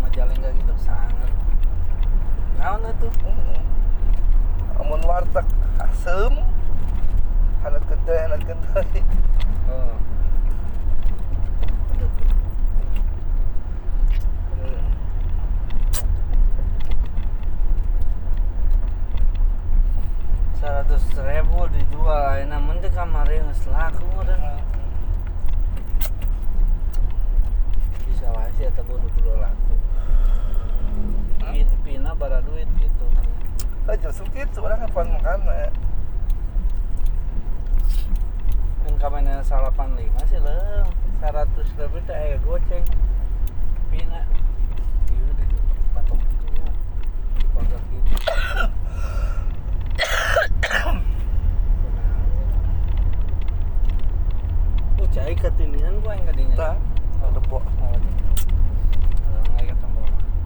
Majalengka gitu sangat. Naon atuh? Heeh. Amun warteg asem, hanat gede, hanat gede. Oh. Aduh. Aduh. Seratus ribu dijual, ayeuna mun teh kamari geus laku meureun. Bisa wae sih eta bodo kudu laku. Pin- Pina bara duit gitu. Ah justru gitu orang kapan makan ya. Mun kamana salapan lima sih leung. seratus ribu teh aya goceng. Pina. Ieu di patok gitu. Patok gitu. Oh, cai ketinian gua yang kadinya. Tah, ada po. Nggak ketemu.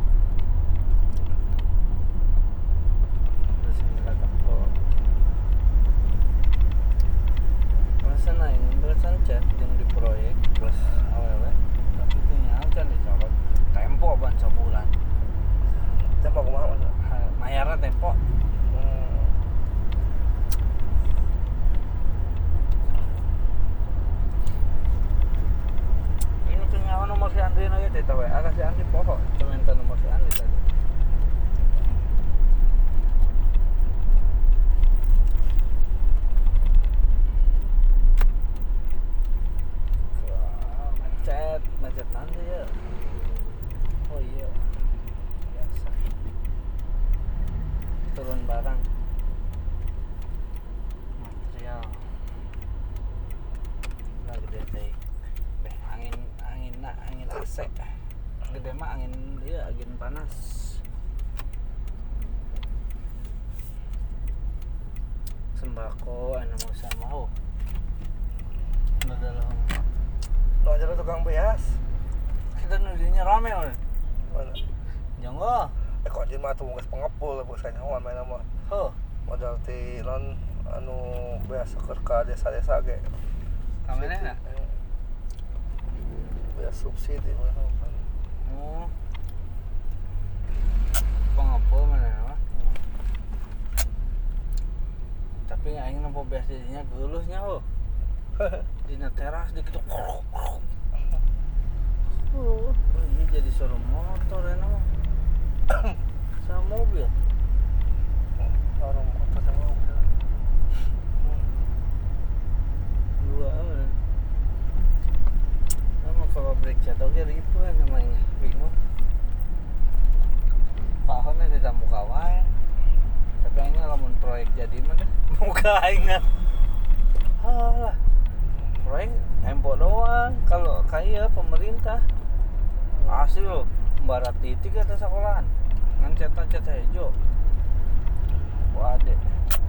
Terus ini ketemu. Masa naik belasan chat yang di proyek terus awewe tapi itu nyalkan dicoba tempo ban sebulan. Tempo kumaha Mas? Ha- Mayarna tempo. Hmm. Ini tuh nyawa nomor si Andri na gitu, tahu ya? Agak si Andri pokok, cuma minta nomor si Andri tadi. Wah, macet, macet nanti ya. Oh iya, biasa. Turun barang, material. Lah gede teh. Beh, angin angin na, angin A C. Gede mah angin dia angin panas. Sembako anu mau sama mau. Udah dalam. Lo aja tukang beas. Kita nudinya rame oi. Mana? Jonggo. Eh kok anjir mah tuh geus pengepul geus kanyawan main mah. Heuh. Modal ti non anu beas keur ka desa-desa ge. Kamerana? Beas subsidi mah. Oh. Pengepul mana mah? Tapi aing nampo beas dinya geulusnya ho. Dina teras dikitu. Oh, ini jadi suruh motor enak mah. Sama mobil. Orang motor sama mobil. Dua mana? Nama kalau break jatuh ke ribu kan namanya. Bingung. Pahonnya tidak muka wae. Tapi aingnya lamun proyek jadi mah deh. Muka aingnya. Halah. Proyek tempo doang. Kalau kaya pemerintah hasil barat titik atas sekolahan. Ngan cetak-cetak hijau. Waduh.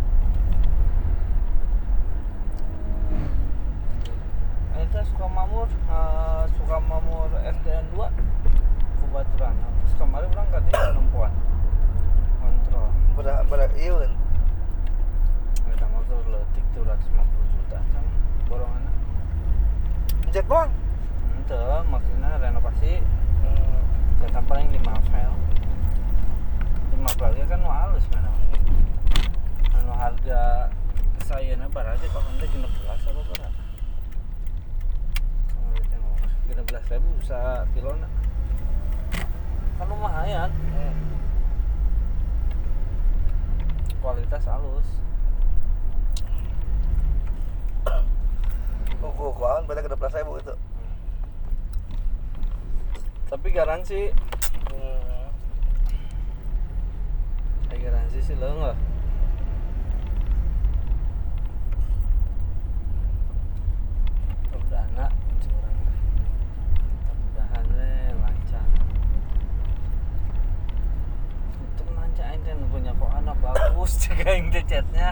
Itu Sukamamur, uh, Sukamamur S D N dua Kubaturan. Terus kemarin berangkat dia perempuan kontrol. Beda beda ieu. Kita motor letik tuh dua ratus lima puluh juta sama borongannya. Jet doang. Ente maksudnya renovasi. Hmm. Jatah paling lima file. lima file kan nu halus mana. Anu harga sayana baraja kok ente genep belas apa berapa? Genep belas ribu bisa kilona. Kan lumayan. Hmm. Kualitas halus. Uku kuan beda ke dua belas ribu itu. Tapi garansi, Hmm. ada garansi sih lo nggak? Perdana, curang. Mudah-mudahan deh lancar. Itu lancar aja punya kok anak bagus, cek yang chatnya.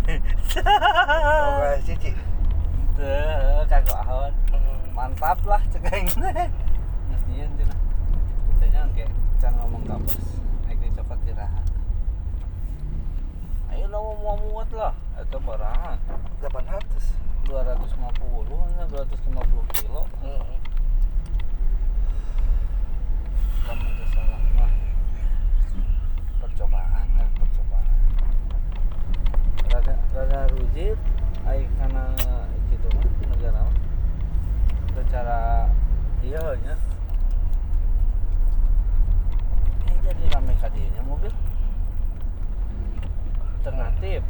Oh guys, cici. Tuh, kagak ahon. Hmm. Mantap lah, cek yang Iya, cina. Katanya kayak can ngomong kampus, naik di coklat diraha. Ayo lo mau muat lah, itu baraha. delapan ratus. dua ratus lima puluh, hanya dua ratus lima puluh kilo. Hmm. kamu itu salah mah percobaan kan percobaan rada rada rujit ai kana gitu mah negara mah secara iya nya eh jadi rame kadinya mobil alternatif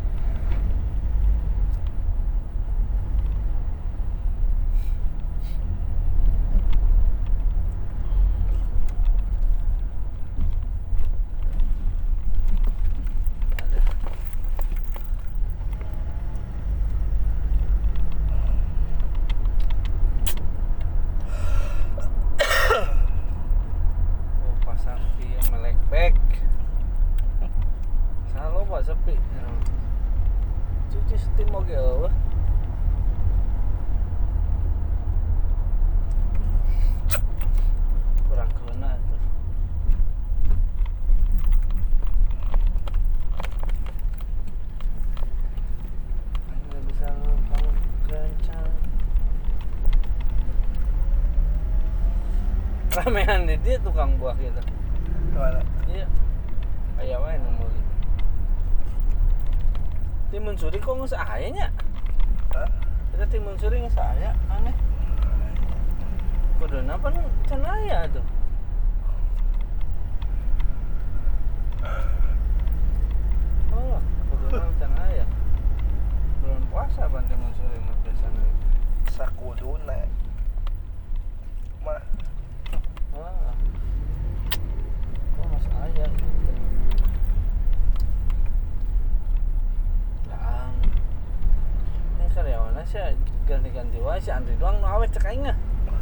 sepi cuci steam oke eueuh kurang keuna tuh hanya bisa kamu kencang ramean di dia tukang buah gitu Mana? iya aya wae nu meuli timun suri kok nggak saya nya? Hah? Kita timun suri nggak saya, aneh. Kode apa nih? Can aya tuh. Oh, kode can aya. Belum puasa ban timun suri mah biasanya. Sakuduna. Mah. Wah. Kok nggak saya gitu. Karyawannya sih ganti-ganti wae si Andri doang nu awet cek aing mah.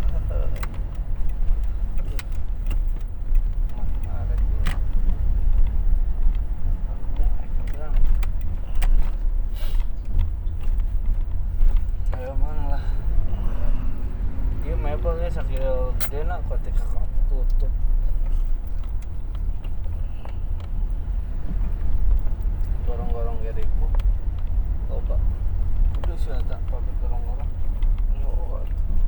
Ayo mang lah. Ieu mebel ge sakieu gedena ketika tutup. Gorong-gorong ge ribu. Loba. Sudah ada pabrik gorong-gorong. Oh.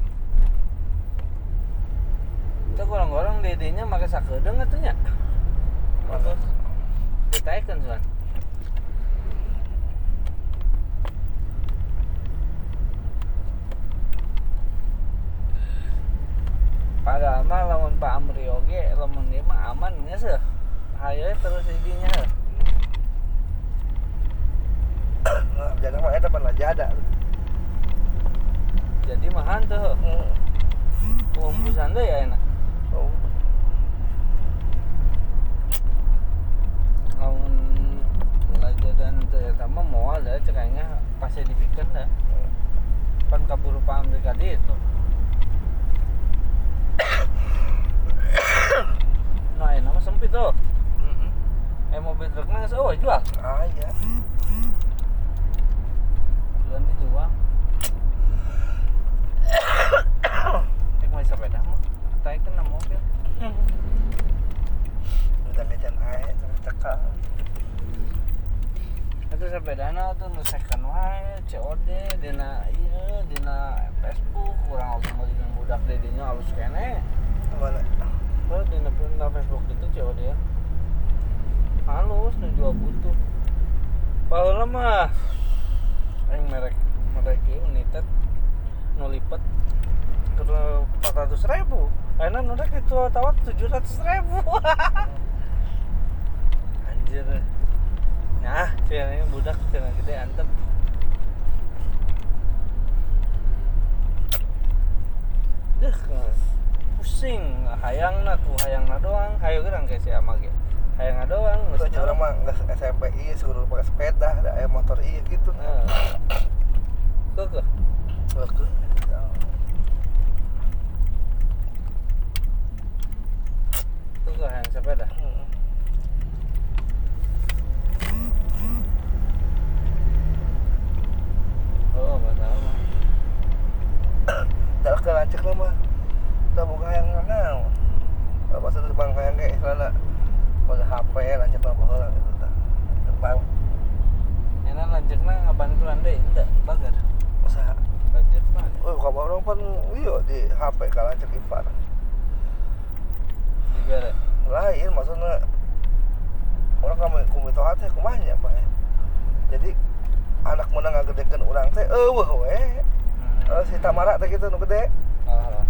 Kita gorong-gorong dedenya make sakedeung atuh nya. Terus ditaekeun soan. Padahal mah lamun Pak Amri oge lamun ieu mah aman nya seuh. Haye terus idinya heuh. Jangan mah eta pan lajada. Jadi mahan tuh. Heeh. Pembusan deui ya enak. Oh. Lamun lajadan teu eta mah moal da cek aing pasti dipikeun da. Pan kaburu Pak Amri ka ditu. Nah, ini nama sempit tuh. Heeh. Eh mobil truknya geus eueuh jual. Ah iya. Jualan dijual. Eh mau sepeda mah. Taikeun na mobil. Udah medan ae cekal. Itu sepedana tuh nu second wae, C O D dina ieu dina Facebook kurang oge meuli jeung budak dedinya alus keneh. Mana? Kalau dina dina Facebook itu C O D ya. Halus nu jual butuh. Baheula mah aing merek merek ieu United nu lipet ke empat ratus ribu. Ayeuna nu rek itu tawat tujuh ratus ribu. Anjir. Nah, cenah budak cenah gede antep. Deuh, pusing, hayangna ku hayangna doang, hayu gerang kayak si Ama ge. Hayangna doang, Itu aja orang mah nggak S M P iya suruh pakai sepeda, ada aya motor iya gitu. Heeh. Kekeh. Oke. Tuh kok hayang sepeda. Oh, betul mah. Tak ke lancek lah mah. Tak buka yang mana? Kalau pas ada terbang kayak kayak selana, pakai H P lancek lah baheula gitu tah. Terbang. Enak lanjutna ngabantuan deui henteu bager. Usaha. Lanjut mah. Oh, kalau orang pun iya di H P kalau lancek Ipar. Dibere. kumanya Pak. Jadi anak mana ngagedekeun urang teh eueuh we. Eh si Tamara teh kitu nu gede. Ah.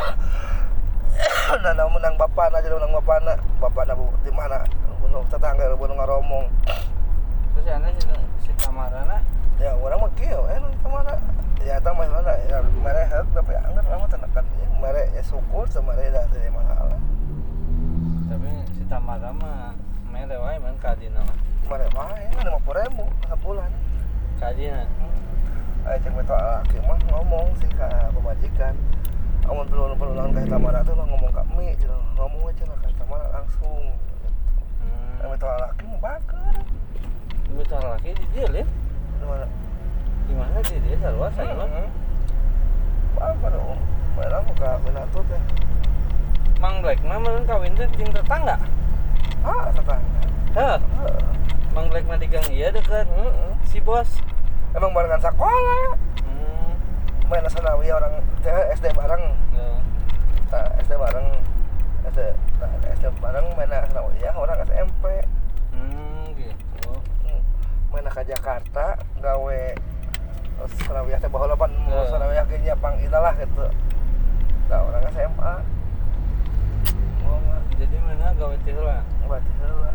Nah, nah menang bapana jadi menang bapana. Bapana di mana? Nu tetangga nu ngaromong. Terus ana si, si Tamarana Ya orang mah kieu we nu Tamara. Ya eta mah mana ya mere heuk tapi anggar mah tenakan ieu mere ya syukur teu mere da teu masalah. tapi si Tamara mah mere wae man ka dina mah. Mere wae lima puluh ribu sabulan. Ka dina. Aya cek beto laki mah ngomong sih ka pemajikan. Amun perlu perlu lawan ka Tamara tuh ngomong ka mi cenah ngomong aja lah ka Tamara langsung. Hmm. Beto laki mah bager. Beto laki di dia lihat. Di mana? Di mana di dia luas aja mah. Bager dong. Mana aku ka Minato teh. Mang Black mah meureun kawin teh jeung tetangga. Ah, tetangga. Heuh. Heeh. Mang Black mah di gang ieu deukeut Heeh. si bos. Emang barengan sekolah. Hmm. Main sanawi orang teh S D bareng. Ya. Nah, S D bareng. S D, nah, S D bareng main sanawi ya orang S M P. Hmm, gitu. Main ke Jakarta gawe terus sanawi teh baheula pan Ya. sanawi ge nyapang itulah gitu. Nah, orang S M A. Oh, mah Jadi mana gawe teh heula. berarti heula.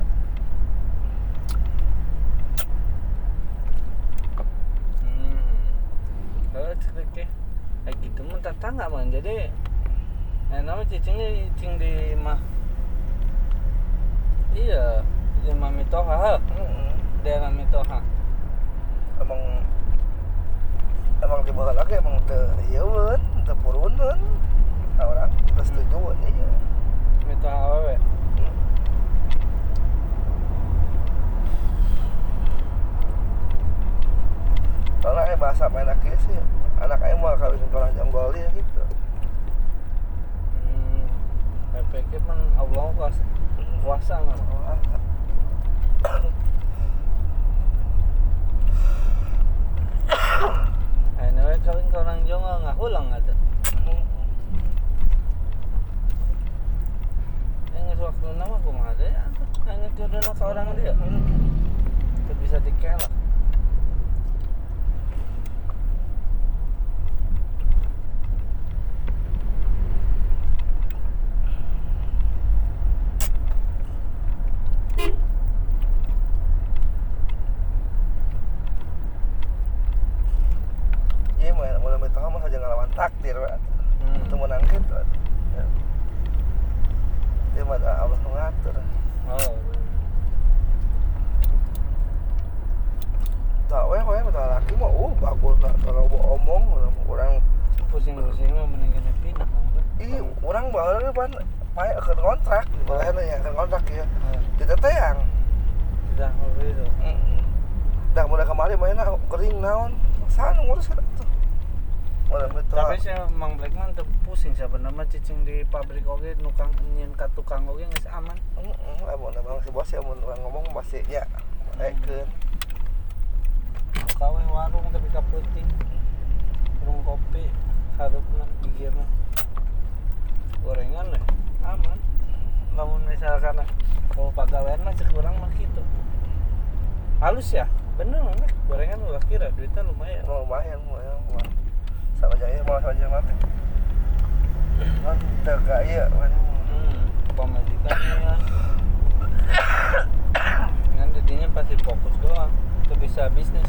Hmm. Kalau cerik teh kayak gitu mah tetangga man. Jadi eh nama cicingnya cicing di mah. Iya, di mah Mitoha, heuh. Heeh. Daerah Mitoha. Emang emang di baheula ge emang teu ieu weun, teu puruneun. Nah, orang teu setuju weun ieu. Mitoha awewe. Soalnya eh bahasa main laki sih anak ayah mau kawin orang jonggoli gitu. Hmm. Saya pikir man Allah kuasa kuasa nggak? Anyway kawin ke orang Jawa nggak hulang ada. Yang waktu nama aku mah ada ya. Hanya jodoh ke orang dia. Itu bisa dikelak. Iya mah mulai itu mah saja ngelawan takdir Pak. Hmm. Itu menang gitu. Ya. Dia mah ada Allah mengatur. Oh. Tak weh weh betul laki mah uh bagus nak kalau mau omong orang Pusing-pusing mah mendingan pindah kan. ih orang baheula pan pae akeun kontrak di balehna ya akeun kontrak ya. Oh. Di teteang. Tidak ngobrol itu. Heeh. Dah mulai kemarin mainnya kering naon. Sana ngurus eta tuh. Mulai betul. Tapi si Mang Blackman tuh pusing sebenarnya cicing di pabrik oge nukang nyin ka tukang oge geus aman. Heeh, amun emang si bos ya mun urang ngomong pasti nya ekeun. Kawe warung tapi kaputing. Warung kopi harupna gigirna. Gorengan deh aman. Lamun misalkan mau pagawean mah cek urang mah kitu. Halus ya? Bener nih, gorengan udah kira duitnya lumayan. Mau lumayan lumayan mah. Sama aja mau sama aja mati. Kan teu ka ieu kan. Hmm, pemajikannya. Dengan jadinya pasti fokus doang, tuh bisa bisnis.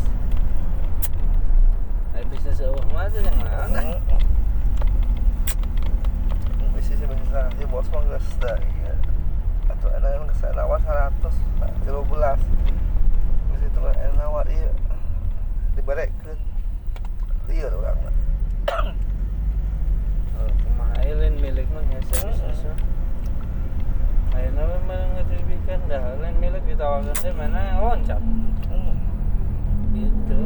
Nah, bisnis eueuh mah aja yang mana? Bisnis bisa si bos mah geus da ieu. Atuh enak yang geus nawar seratus tiga belas. Geus itu kan enak nawar ieu. Dibarekeun. Lieur urang mah. Oh, kumaha lain milik mah hese bisnisnya. Ayeuna mah ngetribikan dah lain milik ditawarkan teh mana loncat. Gitu.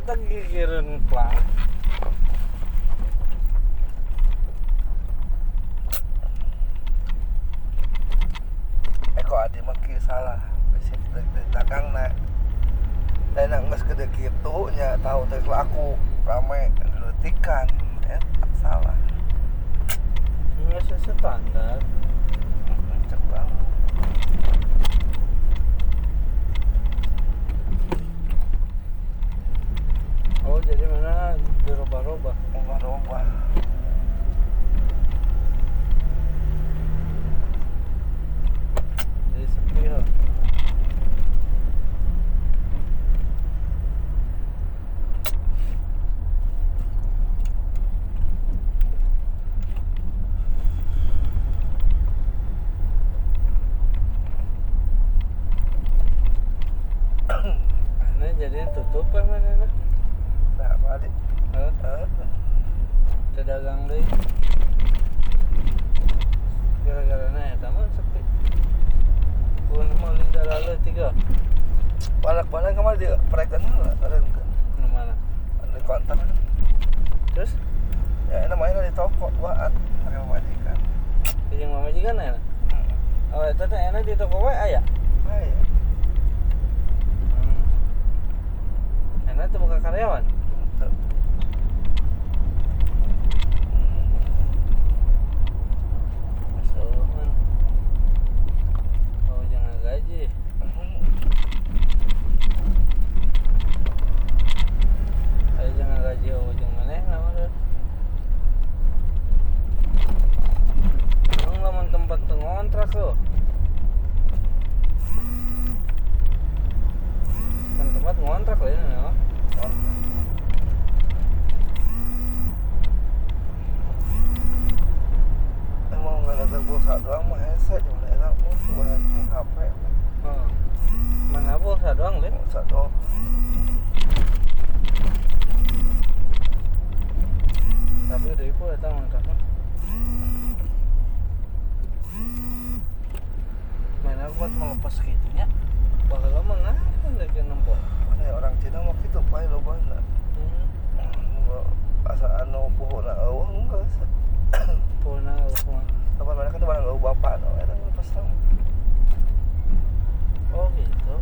tak gigireun plang. Eh kok adi mah kieu salah. Bisi dari dagang na. Dan nak geus gede kitu nya tahu teh laku rame leutikan eta salah. Nggak sesuai standar. Cek banget. Oh jadi mana dirubah-rubah. Ubah-ubah. Jadi sepi ya. Ana jadinya tutup apa mana? Nah, balik. Hah? Eh, Teu dagang deui. Gara-gara na eta mah sepi. Pun mah lidah lalu tiga. balak-balak kemana di proyekkan ada Di mana? di kontak. Terus Ya namanya di toko buat pakai majikan. jeung mamajikan ya? Hmm. Oh, eta teh enak di toko we aya. Ah, iya. Hmm. Enak tuh buka karyawan. Tuh. Soman. Oh, jangan gaji. Ayo jangan gaji oh jeung maneh namanya. Emang lamun tempat teu ngontrak lo. Kan tempat ngontrak lah ini ya. Emang nggak ada pulsa doang mah headset cuma enak pun buat H P. Oh. Mana pulsa doang, Lin? Pulsa doang. Tapi udah ibu eta ngontrakna. Main aku buat melepas gitunya. Bakal lama nggak? Kan lagi nempok. Ada orang Cina mah gitu pae lo bana. Hmm. Asa anu pohona eueuh enggak sih. Pona semua. Apa mereka tuh barang eueuh bapak no eta lepas tang. Oh gitu.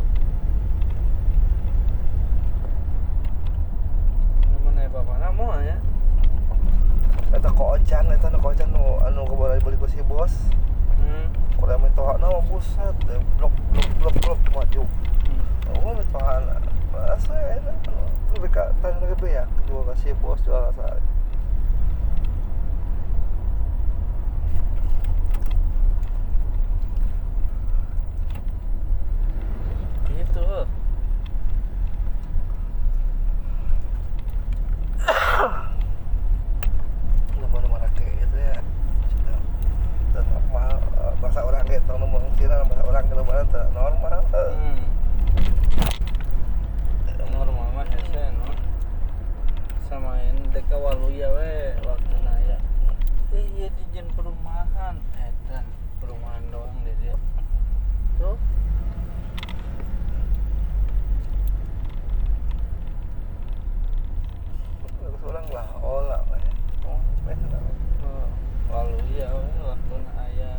Mana bapak namu ya? Eta kocan eta nu kocan nu anu kabar beli ku si bos. Hmm. Kurea metohana mah buset deh blok blok blok blok maju. Hmm. Oh metohana. Asa enak. Lebih ka tanya lebih ya kedua kasih bos jual rasa. Gitu. Oh. Nomor nomor ke itu ya. Dan normal bahasa orang gitu nomor Cina bahasa orang kalau mana normal. Hmm. Normal mah hese no. Samain deka waluya we waktu naya. Eh iya di jen perumahan edan perumahan doang deh dia. Tuh. Orang lah olah we. Oh, benar. Oh, waluya we waktu naya.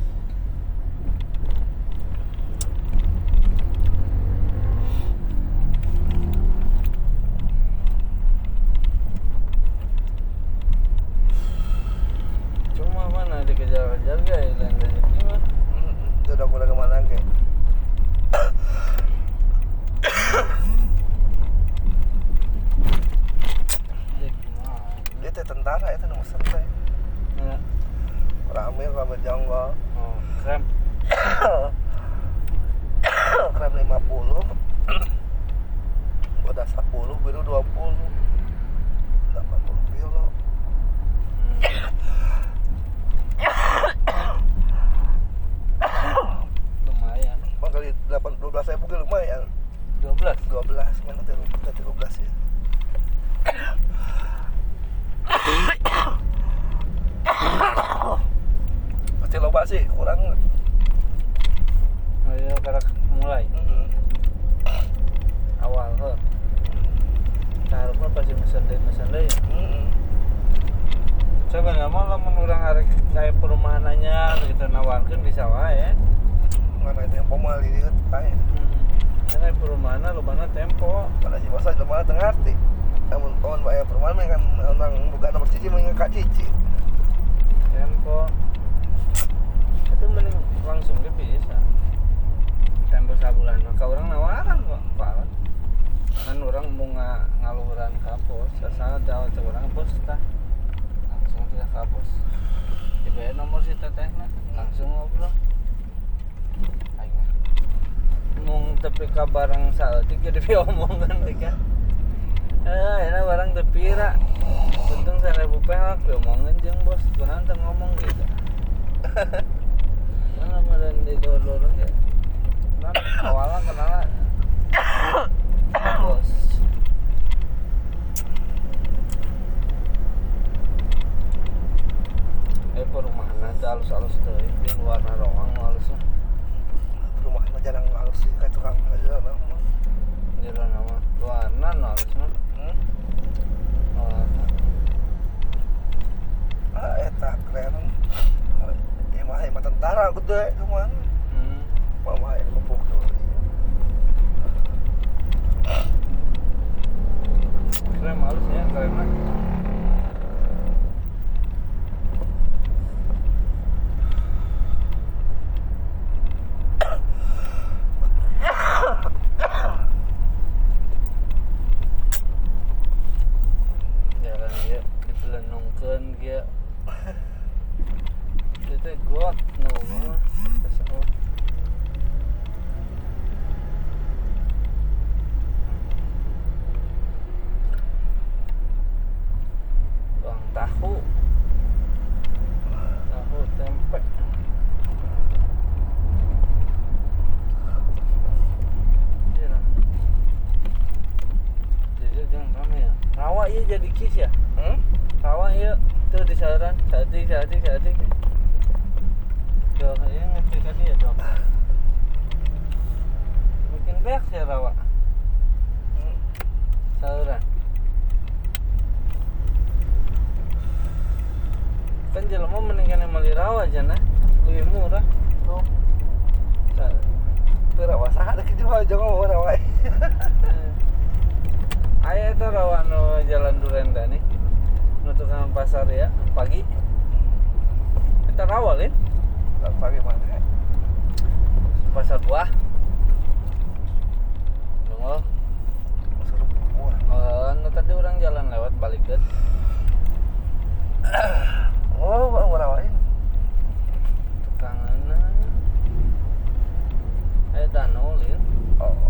Cuma mana dikejar-kejar guys dan rezeki mah. Itu udah mulai kemana ke? Rezeki mah. Dia teh tentara itu nomor satu. Mana? Rame rame jonggol. Oh, krem. Krem lima puluh. Udah sepuluh biru dua puluh. delapan puluh kilo. Lumayan. Bang kali delapan dua belas ribu lumayan. dua belas. dua belas mana teh udah tiga belas ya. Pasti loba sih kurang. Ayo karak mulai Mm-hmm. awal he. Nah, harapnya pasti mesen deui mesen deui. Heeh. Sebenarnya mah lamun urang arek kayak perumahan anyar gitu nawarkeun bisa wae. Mana itu yang pemal ini kan tanya. Hmm. Ini perumahan lobana tempo. Pada si masa udah mana tengah arti. Namun kawan bayar perumahan mah kan orang bukan nomor cici mah kak cici. Tempo. Itu mending langsung ge bisa. Tempo sabulan maka orang nawaran kok, Pak. Kan orang mau nga, ngaluhuran ka pos, asal jauh cek orang bos tah. Langsung kita ka pos. Dibayar nomor si tetehna, langsung ngobrol. Aing mah. Mung tepi ka barang saeutik ge diomongkeun teh kan. Eh, enak barang tepi ra. Untung seribu perak diomongkeun jeung bos, kunaon teh ngomong gitu. Mana meureun di dor-dor ge. Nah, awalnya kenal bos. Eh perumahan nanti halus-halus tuh, di luar narawang halusnya. Perumahan mah jarang halus sih kayak tukang aja lah. Jadi nama luarna halusnya. Hmm? Luarna. Ah, eta keren. Ya mah mah tentara gede cuman. Hmm. Mama yang ngepuk tuh. Keren halusnya, keren mah. Jalan dia dipelenungkeun dia. Itu got nunggu pesawat. Bang tahu. Tahu tempe. Iya. Jadi jangan rame ya. Rawa iya jadi kis ya. Hmm? Rawa iya tuh di saluran. Sadik sadik sadik. Tuh, ini ngerti tadi ya tuh. Bikin beak sih rawa. Hmm. Saluran. Kan jelema mendingan meuli rawa aja nah. Lebih murah. Tuh, Sa- tuh rawa saha deh gitu aja ngomong rawa. Aya itu rawa nu Jalan Durenda nih. Nu tukang pasar ya pagi. Kita rawa lin. Pagi mana? Pasar buah. Nunggu. Suruh buah. Oh, nu tadi orang jalan lewat balikeun. Oh, bang rawain. Tukanganna. Aya danau lin. Oh.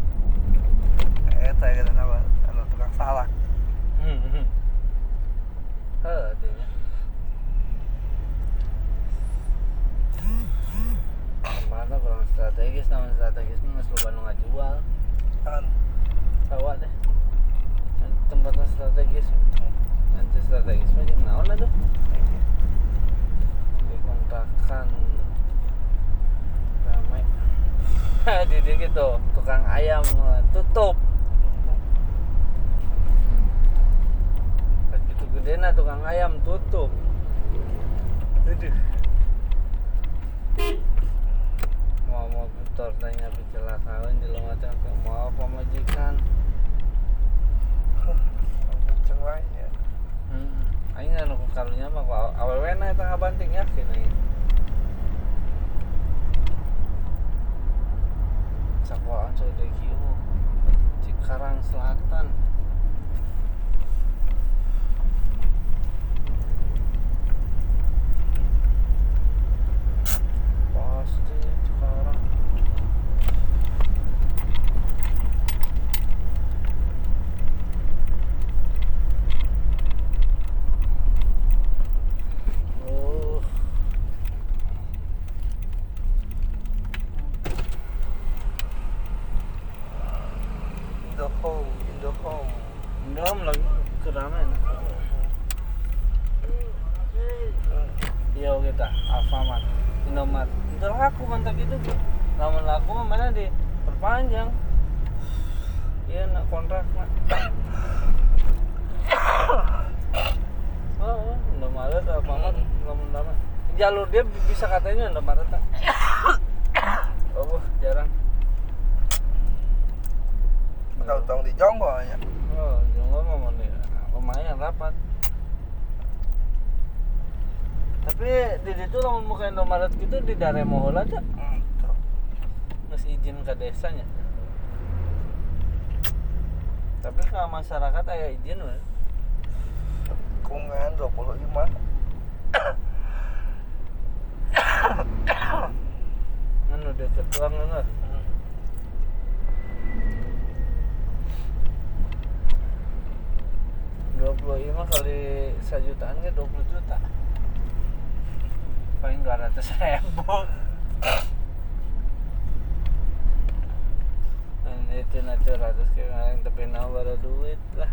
Eta ya nama anu tukang salak. Hmm. Heuh, dinya. Tempatnya kurang strategis, namun strategis mah geus loba nu ngajual. Kan. Rawa deh. Tempatnya strategis. Nanti strategis mah jeung naon atuh? Dikontrakan ramai. Di dieu gitu, tukang ayam eh, tutup. Pas gitu gedena tukang ayam tutup. Aduh. Mau mau motor tanya kecelakaan di lomatan ke mau apa majikan. Kenceng wae ya. Hmm. Aing anu karunya mah ku awewe na eta ngabanting yakin aing. Sakuaan coy deui kieu. Cikarang Selatan. Pasti Cikarang. Oh. The home, in the home. Ndom lagi keramen. Iya kita Alfamart, Indomart. Itu laku mantap itu. Lamun laku mah mana di perpanjang. Iya nak kontrak nak. jalur dia bisa katanya Indomaret. Oh, jarang. Tahu-tahu di Jonggo aja. Oh, Jonggo mah lumayan rapat. Tapi di situ lamun muka Indomaret gitu di Daremo heula aja. Hmm, tuh. Geus izin ke desanya. Tapi ke masyarakat aya izin we. Kungan dua puluh lima. Anu deket tuang enggak? dua puluh lima kali sejutaan ke dua puluh juta. Paling dua ratus ribu. Nah, itu nanti ratus kemarin tapi nawar duit lah.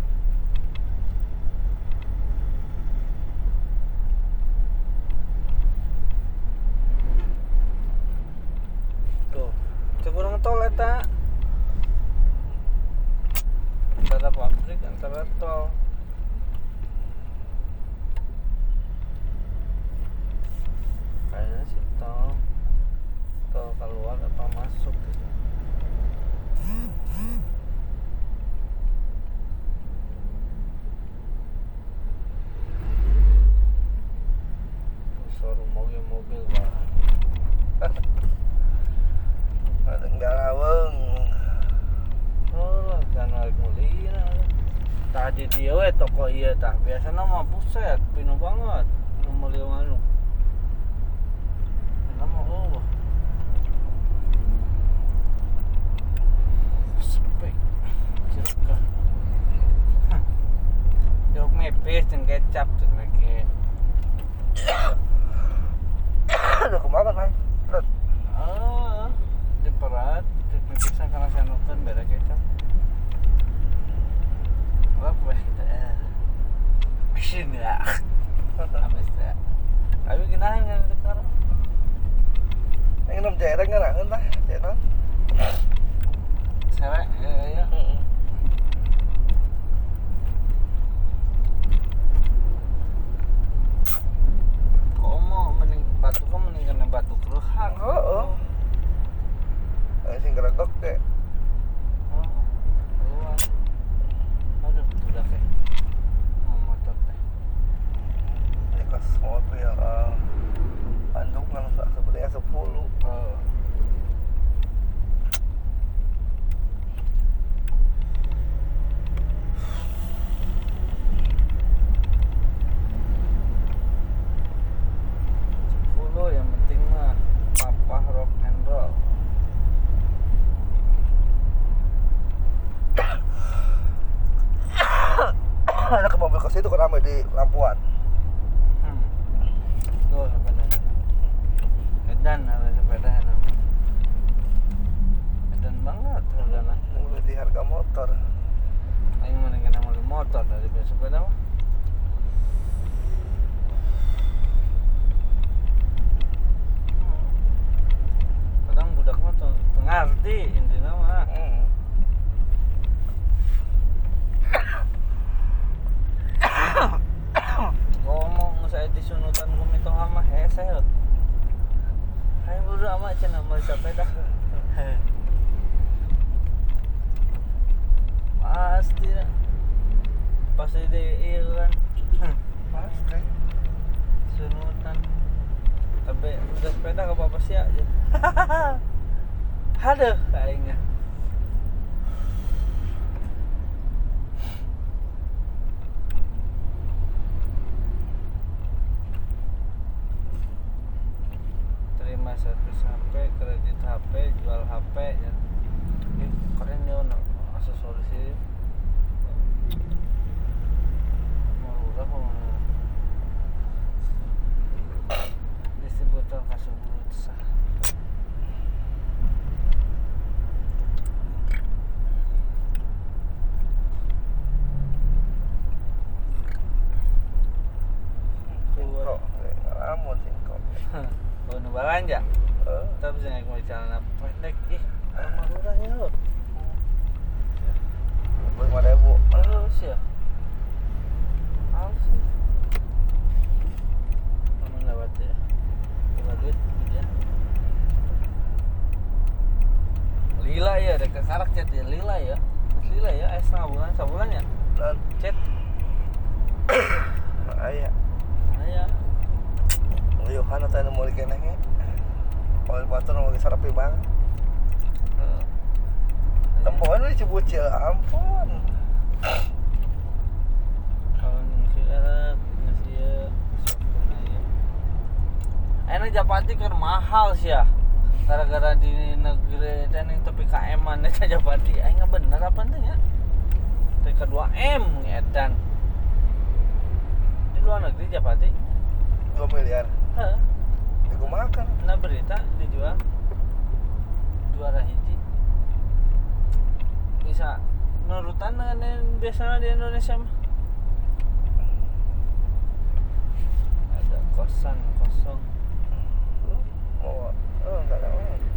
Tuh, kurang tol eta. Antara pabrik, antara tol. Kayaknya sih tol. Tol keluar apa masuk gitu. Suara mobil-mobil lah. Ada galaweng. Oh lah, jangan naik mulina. Tadi dia we toko iya tah. Biasana mah buset, pinu banget. Nu meuli anu. Nama oh. Sepi. Cirka. Jok mepes jeung kecap tuh make. Udah kemakan kan? Berat. Ah, diperat, dipipisan karena saya nonton beda kecap. Apa kita? Mesin ya. Amas ya. Tapi ginahan kan sekarang. Yang nom cereng kan lah, entah, cereng. Serek ya ya. Komo mending batu kok mending kena batu keruhang. Heeh. Ayo sing geregok teh. Oh, keluar. Aduh, udah teh. Mau motor teh. Ini kelas mobil uh, anduk kan sebenarnya sepuluh. Oh. sepuluh yang penting mah papa rock and roll. Ada ke mobil kos itu kan ramai di Lampuan. Hmm. Oh, sepeda. Edan ada sepeda enak. Edan banget hargana. Mulai di harga motor. Aing mending kena mobil motor daripada sepeda mah. Hmm. Kadang budak mah tuh ngerti intinya mah. Hmm. Ngomong saya disunutan kumito ama hese heuh. Hai buru ama cenah mau sepeda. Pasti lah. Pasti di iya kan. Pasti. Sunutan. Tapi udah sepeda ke bapak sia aja. Aduh, kayaknya. Terima servis H P, kredit H P, jual H P ya. Ih, keren ya nak aksesoris ini. Mau udah mau distributor kasubur sah. Singkok, ngalamun singkok. Oh, nu balanja. Heeh. Tapi bisa naik mobil celana pendek. Ih, rumah murah ya lo. lima ribu. Halus ya. Halus ya. Mana lewat ya? Kalau batur mau sarapi bang. Heeh. Tempoan we cebut ya ampun. Kalau ngisi era ngisi ya sopuna ya. Enak Japati kan mahal sih ya. Gara-gara di negeri dan yang tepi K M-an eta Japati. Aing bener apa teh nya? T K dua M edan. Di luar negeri Japati. dua miliar. Heeh. Aku makan. Nah berita dijual juara hiji bisa nurutan dengan yang biasanya di Indonesia mah. Ada kosan kosong Oh, oh enggak ada.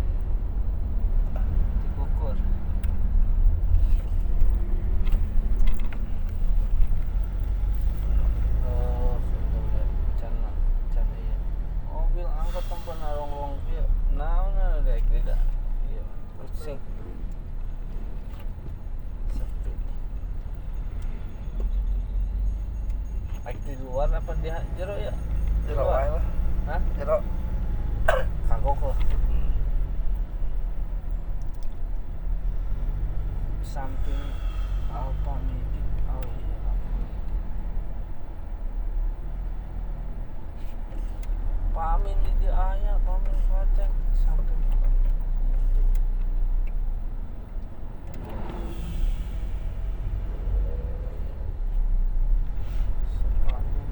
dikukur. Oh, sudah cana cana ya. Mobil angkot tempat narong-rong kieu. Naon dek tidak. Iya, pusing. Sepi. Baik di luar apa di jero ya? Di Jero luar. wae lah. Hah? Jero. Kagok lah. Samping Alfa Midi. Oh iya, Alfa Midi. Pamin di dia aya, pamin kacang samping Alfa Midi. Sepamin.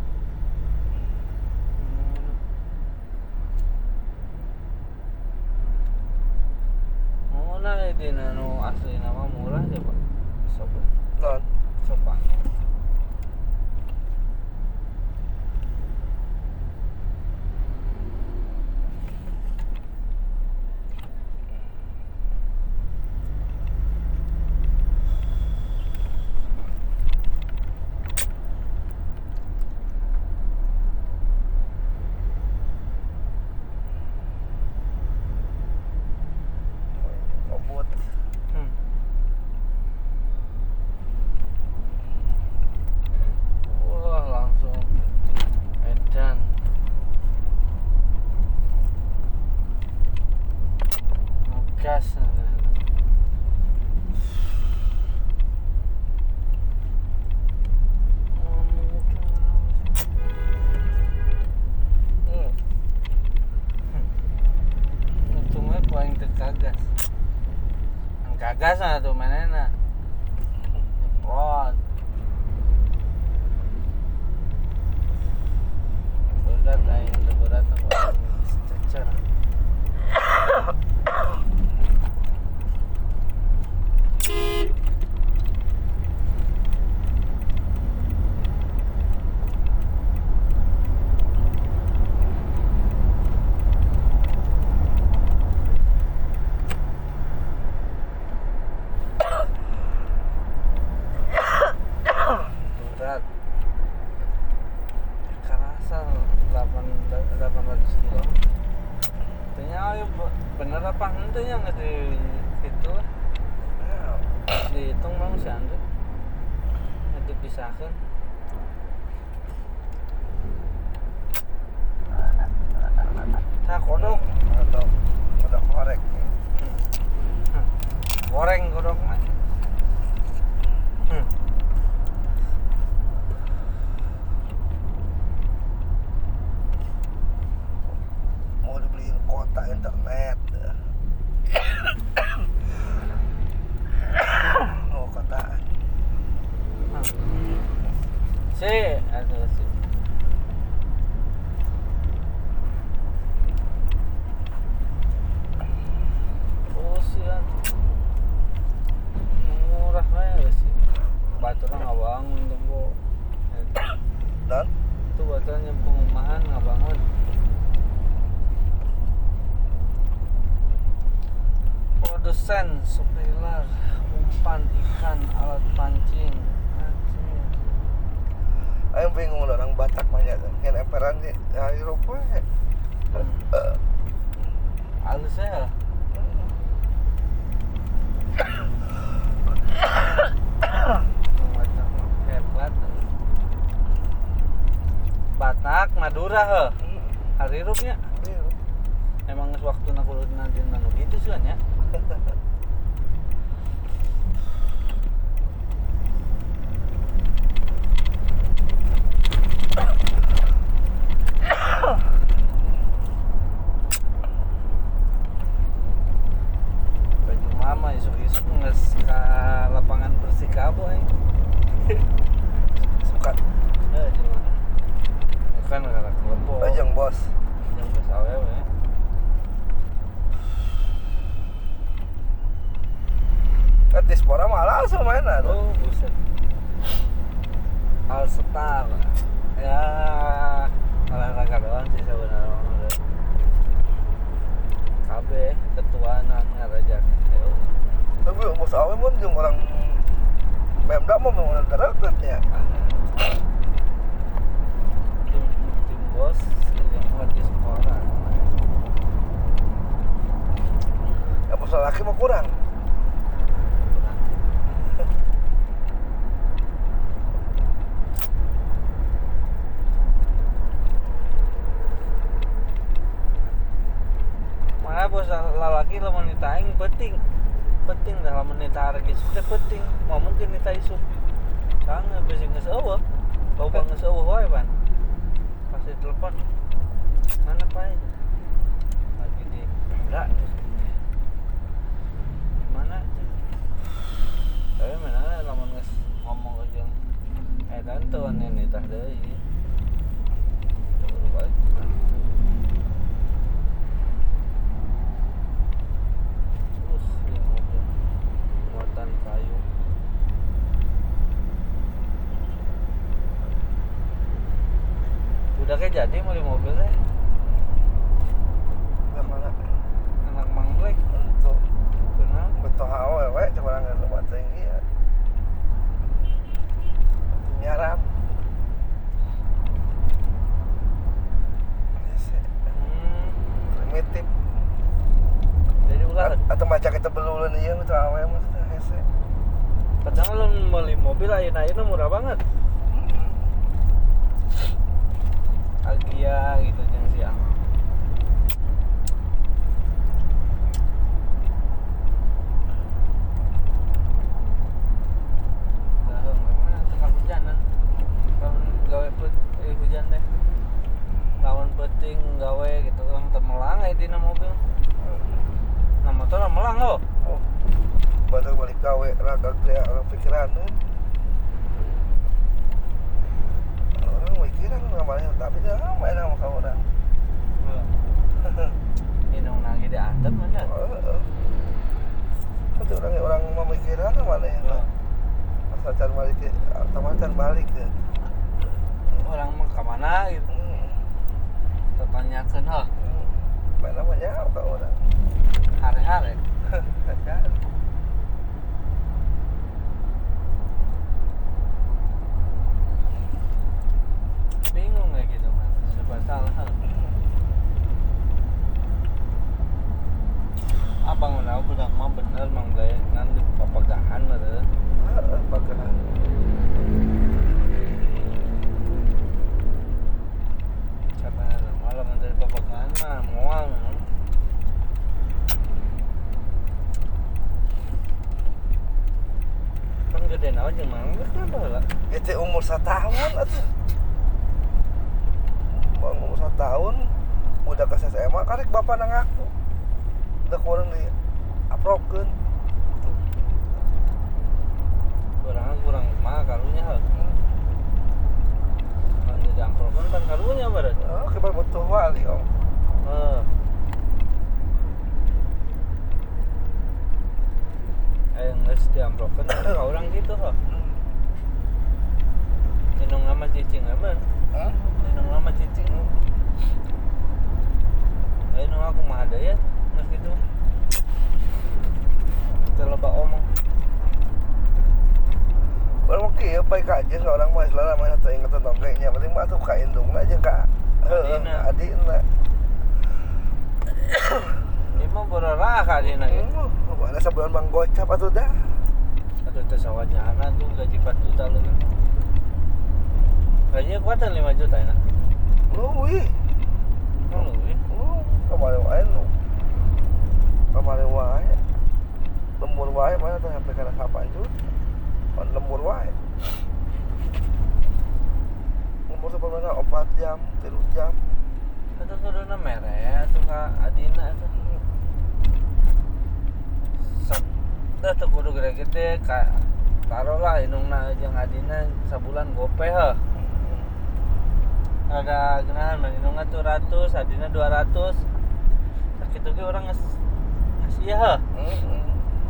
Hmm. Mana di nano asli nama murah aja pak. Sobat, Non. sobat. Obot. Hmm. Wah langsung edan. Ngegas. Hmm. Untungnya paling terkagas. Ang kagas na tuh mana na. Nyemprot. Berat ay yang berat na cecer. Berat. Kerasa delapan ratus kilo. Ternyata bener apa ente yang nggak di itu lah. Ya. Dihitung bang si Andre. Nggak dipisahkan. Tak kodok. Atau kodok korek. Hmm. Goreng kodok mah. Hmm. Mau dibeliin kuota internet. Oh, kotaan. Si, ada si. Oh sian. Murah lah sih. Baturan nggak bangun tuh bu. Dan Itu baturannya pengumahan nggak bangun. Produsen, supplier, umpan ikan, alat pancing. Anjing. ayo bingung lah orang Batak banyak kan. Yang emperan sih ya Eropa. Ya. Hmm. Halus ya. Macam hebat. Batak, Madura he. Harirupnya. emang waktu aku nanti nanu gitu sih kan ya. Baju mama isuk-isuk nges ke lapangan Persikabo eh. Suka Eh di mana? Bukan karena kelompok. ajang bos. Yang bos awewe. Kan diaspora malah langsung mainan. Oh buset. All Star. Ya olahraga doang sih sebenarnya. K B ketuaan ngaraja. Ayo. Tapi bos awe mun jeung orang Pemda mah mau deket ya. Tim tim bos yang buat di sekolah. Ya bos laki mah kurang. Mana bos lalaki lamun nita aing penting. Penting dah lamun nita arek isuk teh penting. Mau mungkin nita isuk. Sange bisi geus eueuh. Loba geus eueuh wae pan. Pasti telepon. Mana Pak? Lagi di Pemda. Mana? Tapi mana lamun geus ngomong ke jeung eh tante ane nita deui. Balik. Muatan kayu. Udah kayak jadi mau di mobil teh. Yang mana? Anak mangglek. Untuk Kenapa? betul awewe coba nggak lebat tinggi ya. Nyarap. Hmm. Primitif. Jadi ulah. Atau macam kita belulan iya betul awewe maksudnya hese. Padahal lo beli mobil ayeuna-ayeuna murah banget. Agia gitu jeung siang. Dah memang tengah hujanan. Lamun gawe put eh, hujan teh. Lamun penting gawe gitu orang temelang aya dina mobil. Nah motor melang lo. Oh. Baru balik gawe raga teh orang pikiran tuh. Orang pikiran ngamalnya tapi dah main sama kau orang. Inung nagi di atap mana? Heeh. Itu orang orang memikiran mana ya? Asal cari balik ke, atau cari balik ke. Orang mah ke mana gitu. Hmm. Tertanyakan ha. Main namanya apa orang? Hari-hari. Kacau. Bingung kayak gitu mas. Serba salah. Ha. Abang udah udah mah bener mang gaya ngantuk papagahan ada. Heeh, pagahan. Siapa ada malam dari papagahan mah mual. Kan gede nawa jeung mangga kenapa lah? Ya teh umur satu tahun atuh. Bang umur satu tahun udah ke S M A karek bapak nang aku. Udah kurang di apropkeun. Kurang kurang mah karunya ha. Kan jadi amplopkan kan karunya barat. Oh, kibar butuh wali om. Heeh. Eh geus diamplopkeun ka urang gitu ha. Inung nama cicing apa? Hah? Inung nama cicing. Ayo nung aku mah ada ya, nggak gitu. Kita loba omong. Orang mah kieu bae ka aja orang mah istilahna mah teu inget dongengnya, penting mah tuh ka indungna jeung ka heeh Adina. adina. Ini mah berarah kadina gitu. Hmm, mana sabulan Bang Gocap atuh dah. Aduh teh sawajana tuh gaji empat juta leuwih. Gajinya kuatan lima juta enak. Leuwih. Oh leuwih. Oh. kemarin wae lu kemarin wae lembur wae mana tuh sampai kana delapan juta pan lembur wae lembur sebenarnya empat jam tiga jam itu kuduna mere tuh ka adina tuh sok dah tuh kudu gede-gede ka taruhlah inungna jeung adina sabulan gope heuh ada genahan inungna tuh ratus adina dua ratus sakitu ge urang geus geus ieu heuh heeh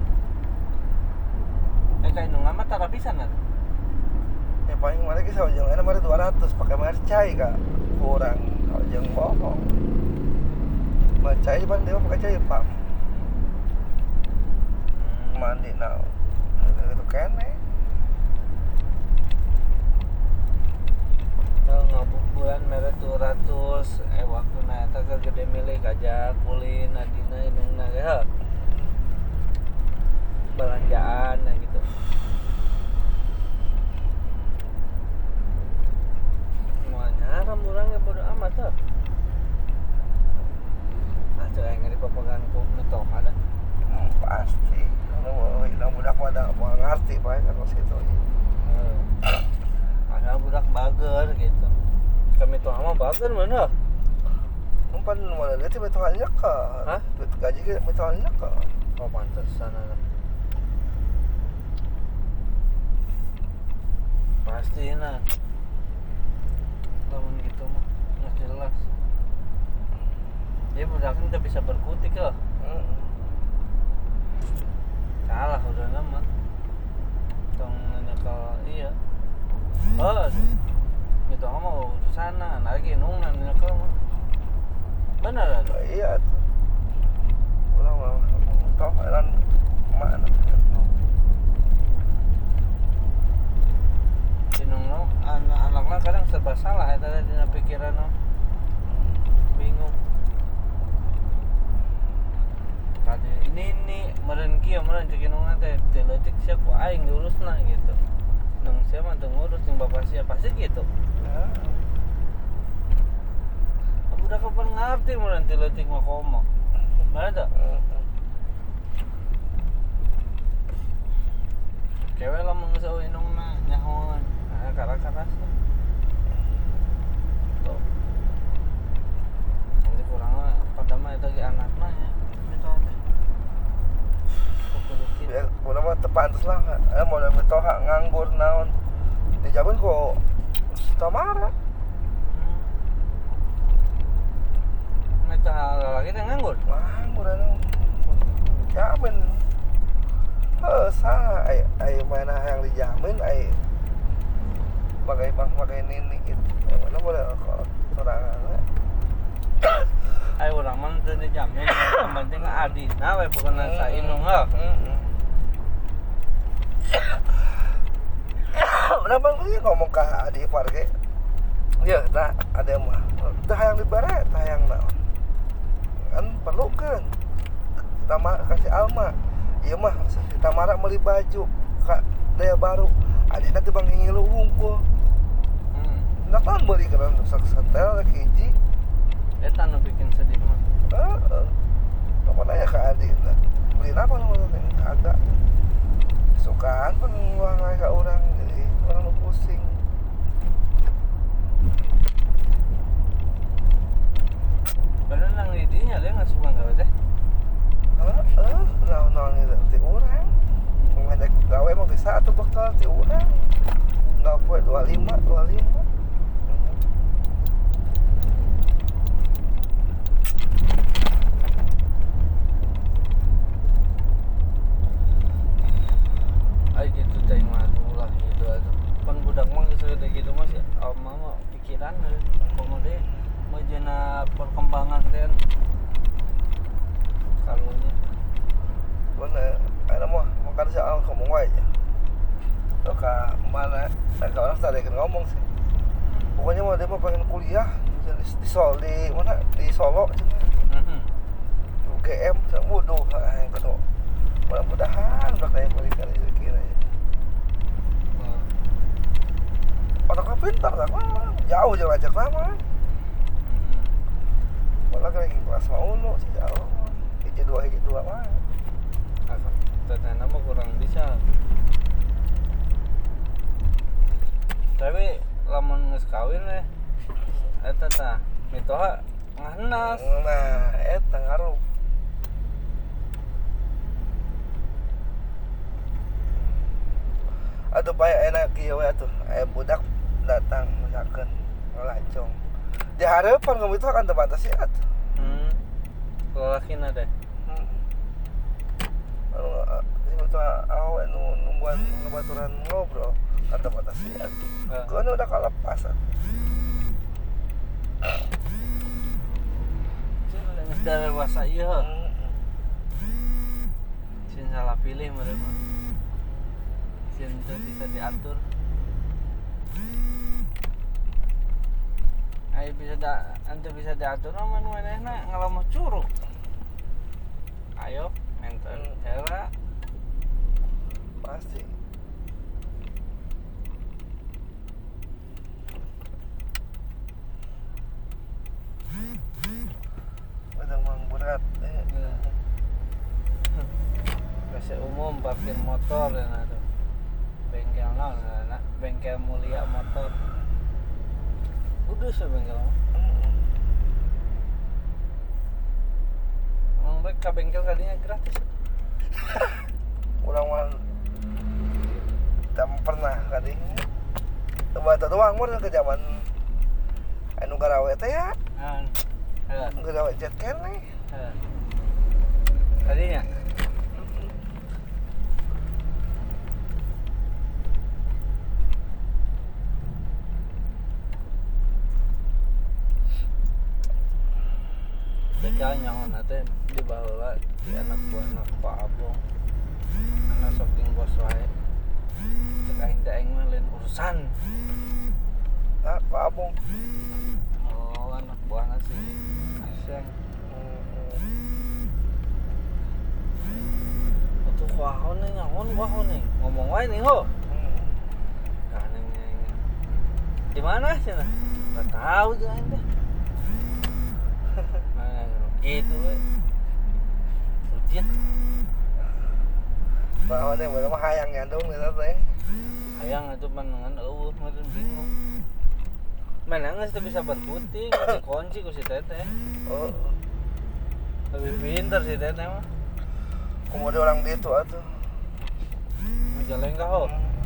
eh ka inungna mah tara pisan atuh ya paling mana ki saujeng ana mah dua ratus pakai mercai ka kurang saujeng bohong mercai pan dia pakai cai pam mandi now itu kene teu ngabuburan mere dua ratus eh waktuna eta keur gede milih kaja kulin adina inungna ge heuh belanjaan ya gitu semuanya orang yang bodo amat tuh nah coba yang dipepegan ku nutup ada hmm, pasti kalau hilang budak mah ada mau ngerti pak kalau situ hmm. ada budak bager gitu kami tuh ama bager mana umpan mana dia tiba tiba nyeka hah duit gaji kita tiba tiba nyeka oh pantesan ada pasti nah namun gitu mah nggak jelas dia budaknya udah bisa berkutik loh hmm. salah udah nama tong nyekal iya oh itu mau ke sana lagi nunggu nyekal mah benar ada Oh, iya tuh ulah mah toh elan mana bingung anak-anaknya kadang serba salah ya tadi dina pikiran no. Bingung tadi ini ini meren kieu meren cek inungna teh teu leutik sia ku aing diurusna gitu nang sia mah teu ngurus jeung bapak sia pasti gitu ya budak kapan ngarti meren teu leutik mah komo mana tuh cewek lah mengesau inungna nyahoan nah karas-karas tuh nanti kurang mah pada mah itu ge anakna ya itu teh kudu kitu ya udah mah tepantes lah eh mau da mitoha nganggur naon dijaban kok Tamara meta lagi teh nganggur nganggur anu jamin heuh saha ai ai mana yang dijamin ai bagai bang bagai nini gitu mana boleh kalau sorangan ai urang mah teu dijamin yang penting adina we pokona sa inung heuh udah bang ini ngomong ke Adi Ipar ke ya nah ada mah tah hayang dibare tah hayang naon kan perlu kan Tamara kasih Alma iya mah si Tamara beli baju kak daya baru adina teh bang ngilu hungkul hmm. nak kan beli kan sak setel hiji eta nu bikin sedih mah heeh apa nanya ke Adina beli apa lu teh kagak sukaan pun uang ka urang jadi orang lu pusing padahal nang didinya dia nggak suka gawe teh heeh naon-naon itu ti urang ngedek gawe mah bisa atuh bekal ti urang enggak poe dua puluh lima dua puluh lima ay gitu teh mah ulah gitu atuh pan budak mah geus gitu mah sih alma mah pikiran komode mah jeuna perkembangan teh kalunya bener ada mah makan soal ngomong wae aja tuh ka mana ka orang tadi kan ngomong sih pokoknya mah dia mah pengen kuliah di, di, Solo di mana di Solo heeh U G M wuduh yang kedua mudah-mudahan bakal yang berikan rezeki ya anaknya pintar kan jauh jauh ajak lama Sekolah kan lagi kelas mau nu sih jauh. Hiji dua hiji dua mah. Ternyata mah kurang bisa. Tapi lamun geus kawin we eta tah mitoha ngahanas. Nah, eta ngaruh. Aduh paya enak kieu we atuh. Aya budak datang misalkan ngelacong. Di hareupan kamu itu akan terbatas ya atuh. Hmm. Lalakina teh. Hmm. Anu itu awe nu nungguan ngebaturan ngobrol kan terbatas ya atuh. Ah. Kono udah kalepas atuh. Geus dewasa ieu. Hmm. Sin salah pilih meureun mah. Sin teu bisa diatur. Ayo bisa da, ante bisa diatur mah nu manehna ngalamuh curug. Ayo, menten era Pasti. Udah mang berat. Eh. Biasa umum parkir motor dan itu bengkel naon na bengkel mulia motor. Udah sih bengkel mah. Hmm. Emang rek ka bengkel kadinya gratis. Urang mah tak pernah kali. Coba tuh doang mah ke zaman anu garawe teh ya. Nah, heeh, Garawe jet keneh. heeh. Kadinya Teka nyaho teh di baheula di anak buahna Pak Abong. Anak saking bos wae. Cek aing teh aing mah lain urusan. Ah, Pak Abong. Oh, anak buahna si Aseng. Atuh kuahon nih nyaon kuahon nih. Ngomong wae nih ho. Ka neng neng. Di mana cenah? Enggak tahu jeung aing teh. Nah, gitu we. Rujit. Bahwa yang bener mah hayang nyandung gitu teh. Hayang itu panengan eueuh meureun bingung. Mana geus teu bisa berputing, dikunci ku si teteh. Oh, Lebih pintar si teteh mah. kemudian orang gitu atuh. Majalengka ho.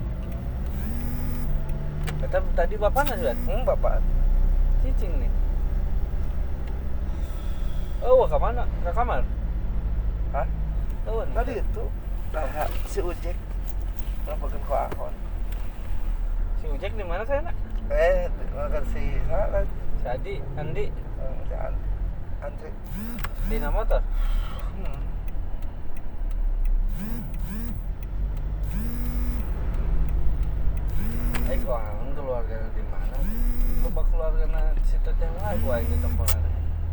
Eta tadi bapakna sudah Hmm, bapak. cicing nih. Oh, ke mana? Ke kamar? Hah? Tahun. Tadi itu nah, si Ujek ngapain ku akon. Si Ujek di mana saya nak? Eh, makan si sana Si Adi, Andi, si An- Andri. di nama motor. Hmm. Eh, kok angon keluarga di mana? Lupa keluarga si teteh wae gua ini tempat.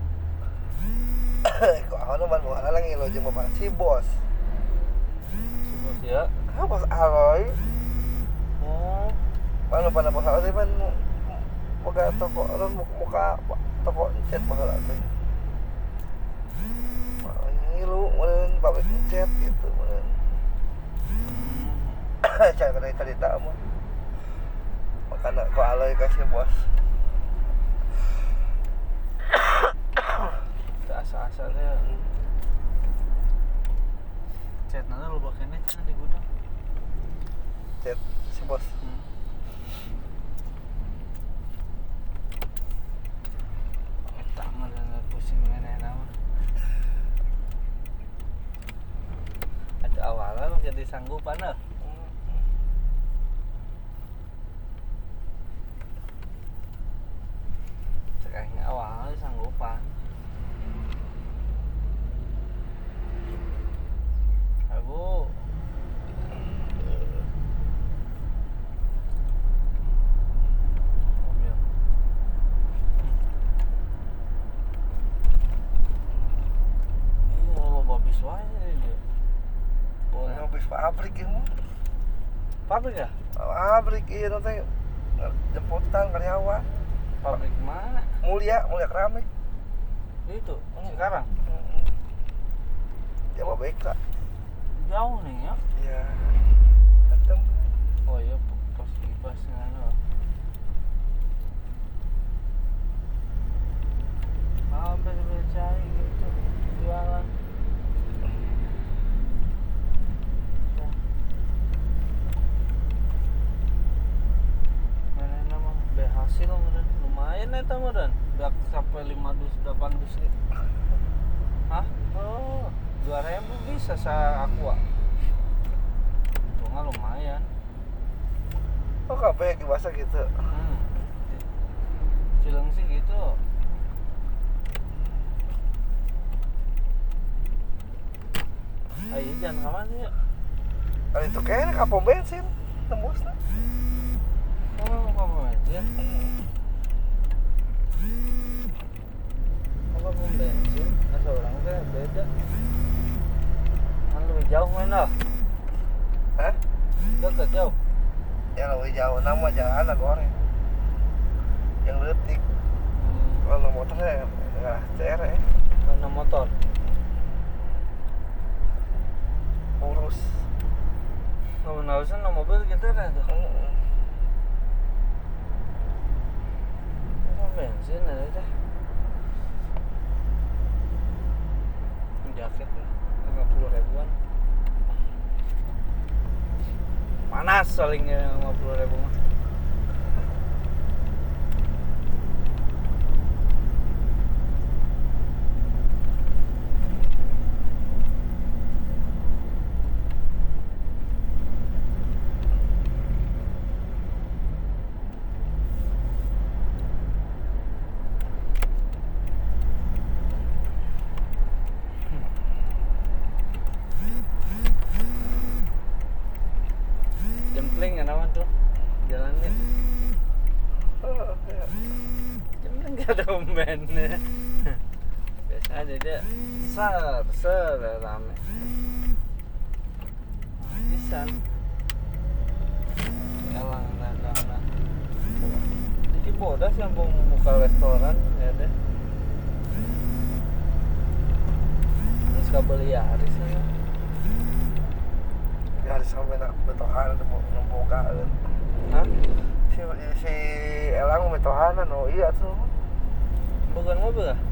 Ku akon ban bawa lagi lo jeung bapak si bos. Si bos ya. Ah, bos Aloy. Oh, Mana pada bos Aloy ban boga toko orang muka toko cat baheula teh. Ngilu meureun pabrik cat gitu meureun. Cai kada cerita mah. Makana ku Aloy kasih bos. asa-asa teh. Chatna lu bakene cenah di gudang. Cat si bos. Hmm. Eta mah nggak pusing manehna mah. Ada awalnya mah jadi sanggupan eh. Cekahnya awalnya sanggupan. Abu. Mobil. Iya, lo babis wae dia. Nah, bis pabrik ieu mah. Pabrik ya? Pabrik ieu teh jemputan karyawan. Pabrik mana? Mulia, mulia keramik. Itu sekarang Dia mau B K. jauh nih ya. Ya. Datang. Oh iya pas pas ngano. Hampir bercai gitu jualan. Mana nama berhasil meren. Lumayan eta meren. Udah sampai lima dus delapan dus nih. Hah? Oh, dua ribu bisa sa aqua. Untungnya lumayan. Oh kabeh dibasa gitu. Hmm. Cilengsi gitu. Ayo jangan kemana ya? Kali itu kayaknya ka pom bensin tembusna. Oh, apa aja? Apa pom bensin? Asa orang teh beda. Kan lebih jauh mana? Hah? Dekat jauh. Ya lebih jauh nama jalan goreng. Yang letik. Hmm. Kalau motornya enggak C R ya. Mana motor? Urus. Kamu nausan no mobil gitu kan tuh. Heeh. Apa bensin ada teh? Jaket lima puluh ribuan. Panas soalnya lima puluh ribu mah. Jempling kan awan tuh jalannya. Oh, ya. Jempling gak ada umbennya. Biasa aja dia ser ser rame. Pisan. Elang dagang. Jadi bodas yang mau buka restoran ya deh. Terus kabel ya Haris ya. Ya harus sampai nak betohan nembogaan. Hah? Si si Elang betohanan oh iya tuh. Bukan mobil kah?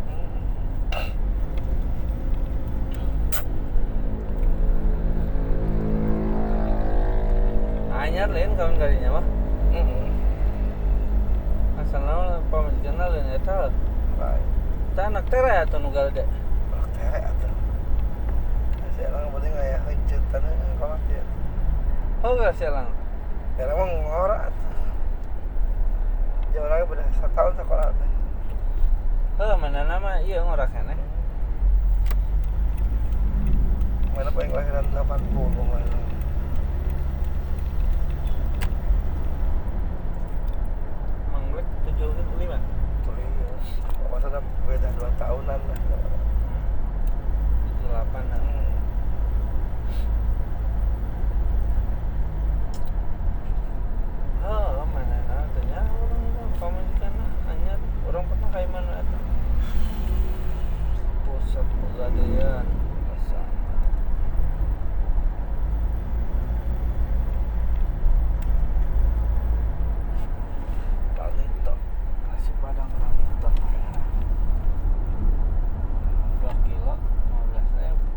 Anyar lain kawan kalinya mah. Heeh. Asalnya pamajikan lain eta. Baik. Ta anak tere atau nugal dek. Anak teh atuh. Si Elang penting aya heunceutan kalau dia. Oh gak sialang. Ya emang ngora atuh. Ya orangnya udah satu tahun sekolah teh. Oh mana nama iya ngorak keneh. Mana paling kelahiran delapan puluh mana. Manglek tujuh puluh lima. Tuh iya. Maksudnya beda dua tahunan lah. tujuh puluh delapan an. Hmm. Oh mana nama tanya orang itu pamajikan anyar orang pernah kayak mana eta. Pusat pegadaian bersama. Lalito. Nasi padang Lalito. dua kilo lima belas ribu.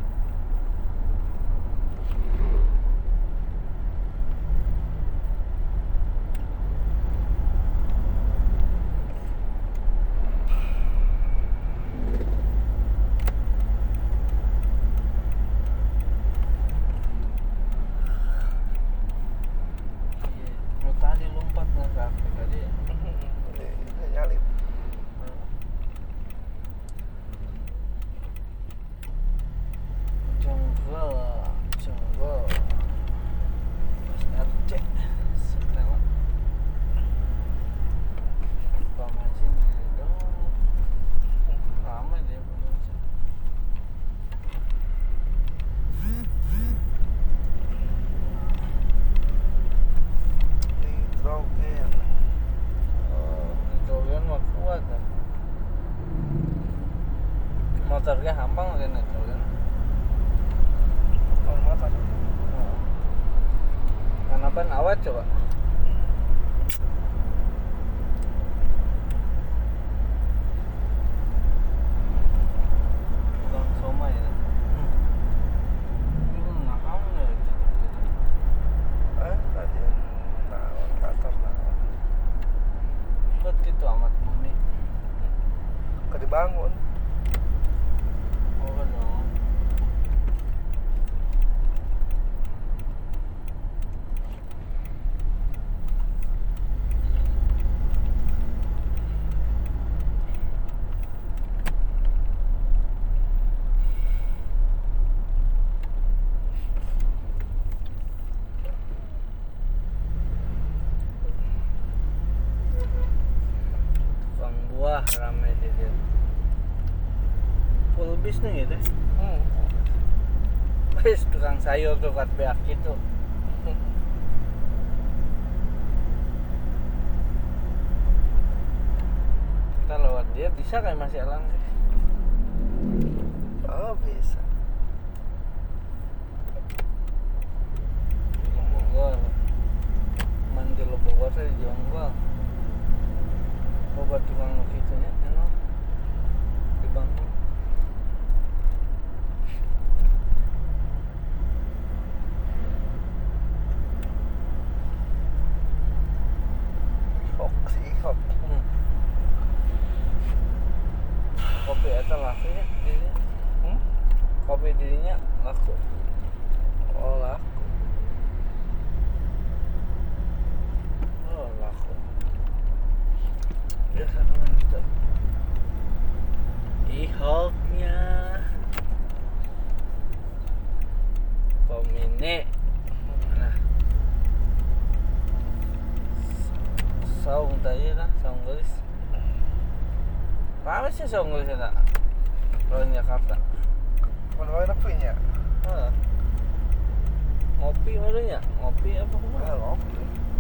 Iya, mau tadi lompat nggak kafe tadi. Ini nyalip. Jonggol, jonggol. Mas R C, setelah pemasin di dong. Lama dia pemasin. Nitrogen. motor ge hampang kan itu kan. Kalau motor. Karena ban awet coba. Tukang somai ya. Itu ngaham ya itu. Eh, tadi naon kantor naon. Kok gitu amat muni. Ke dibangun. Oh kan dong. Tukang buah ramai di dia. Full bis nih gitu. Hmm. Wes tukang sayur tuh kat beak gitu. Kita lewat dia bisa kayak masih elang sih. Oh, bisa. Di Bogor. Mandi lo Bogor saya jonggol. Bobat tukang gitu nya, enak. Di Bangku. Hok sih, hok. Hmm. Kopi eta laku nya dirinya. Hmm? Kopi dirinya laku. Oh, laku. Oh laku. Biasa mantap. Ihoknya. Pemine. Nah. Saung tadi lah, saung gelis. Apa sih saung gelis eta? Kalau di Jakarta. Mana enak punya? Heeh. Ngopi malunya, ngopi apa Ah, kemana? ngopi.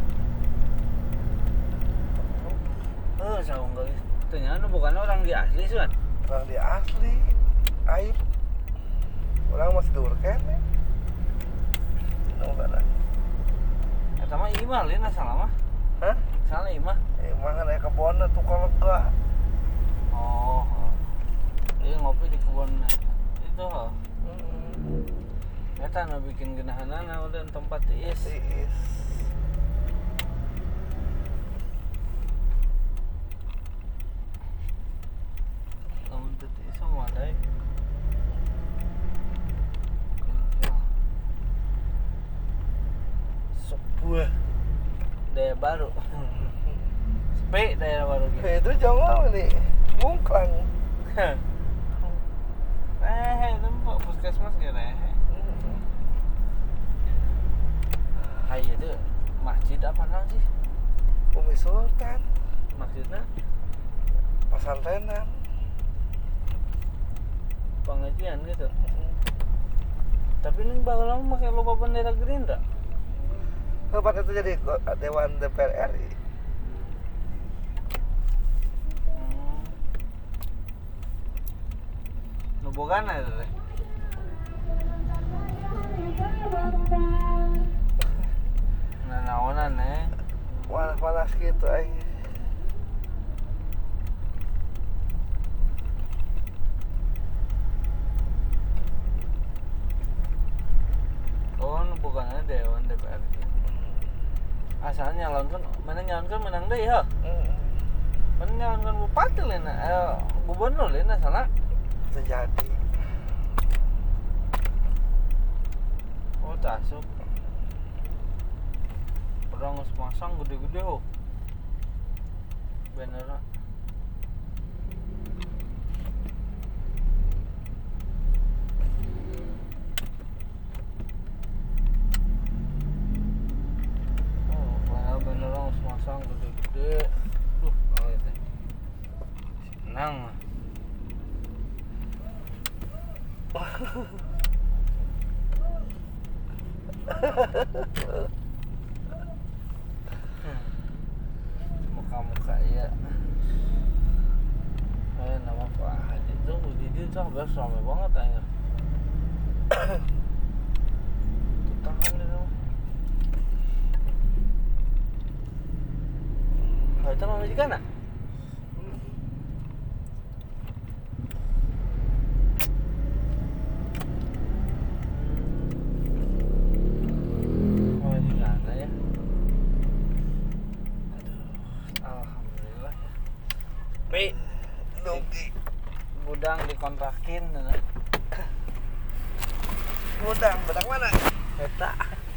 Oh, saung gelis. Ternyata bukan orang di asli sih kan? Orang di asli. Aib. Orang masih dur kene. Nggak ada. Eta mah imah lain salah mah. Hah? Salah imah. Eh, mana ya kebun tuh kalau enggak. Oh. Dia ngopi di kebun itu. Hmm. Eta nu bikin geunahanana udah tempat tiis. Tiis. Lamun teu tiis mah ada. Sebuah daya baru. Sepi daerah baru gitu. Eh, itu jangan nih. Bungklang. Eh, tempat puskesmas ge rehe. Hmm. Hai itu masjid apa namanya sih? Umi Sultan. Maksudnya Pesantrenan. pengajian gitu. Tapi ini bakal lama pakai logo bendera Gerindra. Kapan itu jadi Dewan D P R R I? Hmm. Nubogana itu teh. Nah, naonan eh. Panas-panas gitu aing. Oh, nubogana Dewan D P R. Asalnya nyalonkan, mana nyalonkan menang deh ya. Hmm. Mana nyalonkan bupati lena, eh, gubernur lena salah. Terjadi. Oh, tasuk. Perang geus masang gede-gede oh. Beneran. Oh, padahal beneran geus masang gede-gede. Duh, oh itu. Senang mah. Muka-muka ya. Eh, nama Pak Haji. Itu di dia tuh hampir ramai banget aja. Tangan itu. Oh, itu mama juga nak? Oh, juga ada ya. Aduh, alhamdulillah ya. Pi, Doki. gudang dikontrakin, nah. Gudang, gudang mana? Eta.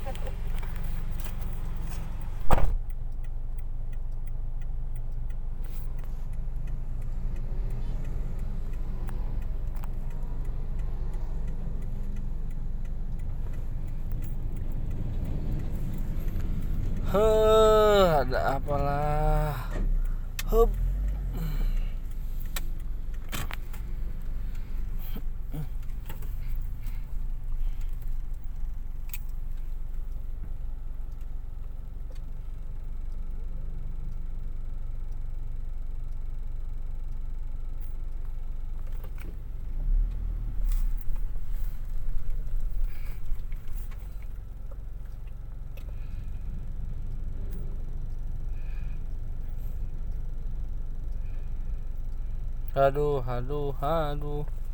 Huh, ada apalah. Hup. Aduh, aduh, aduh.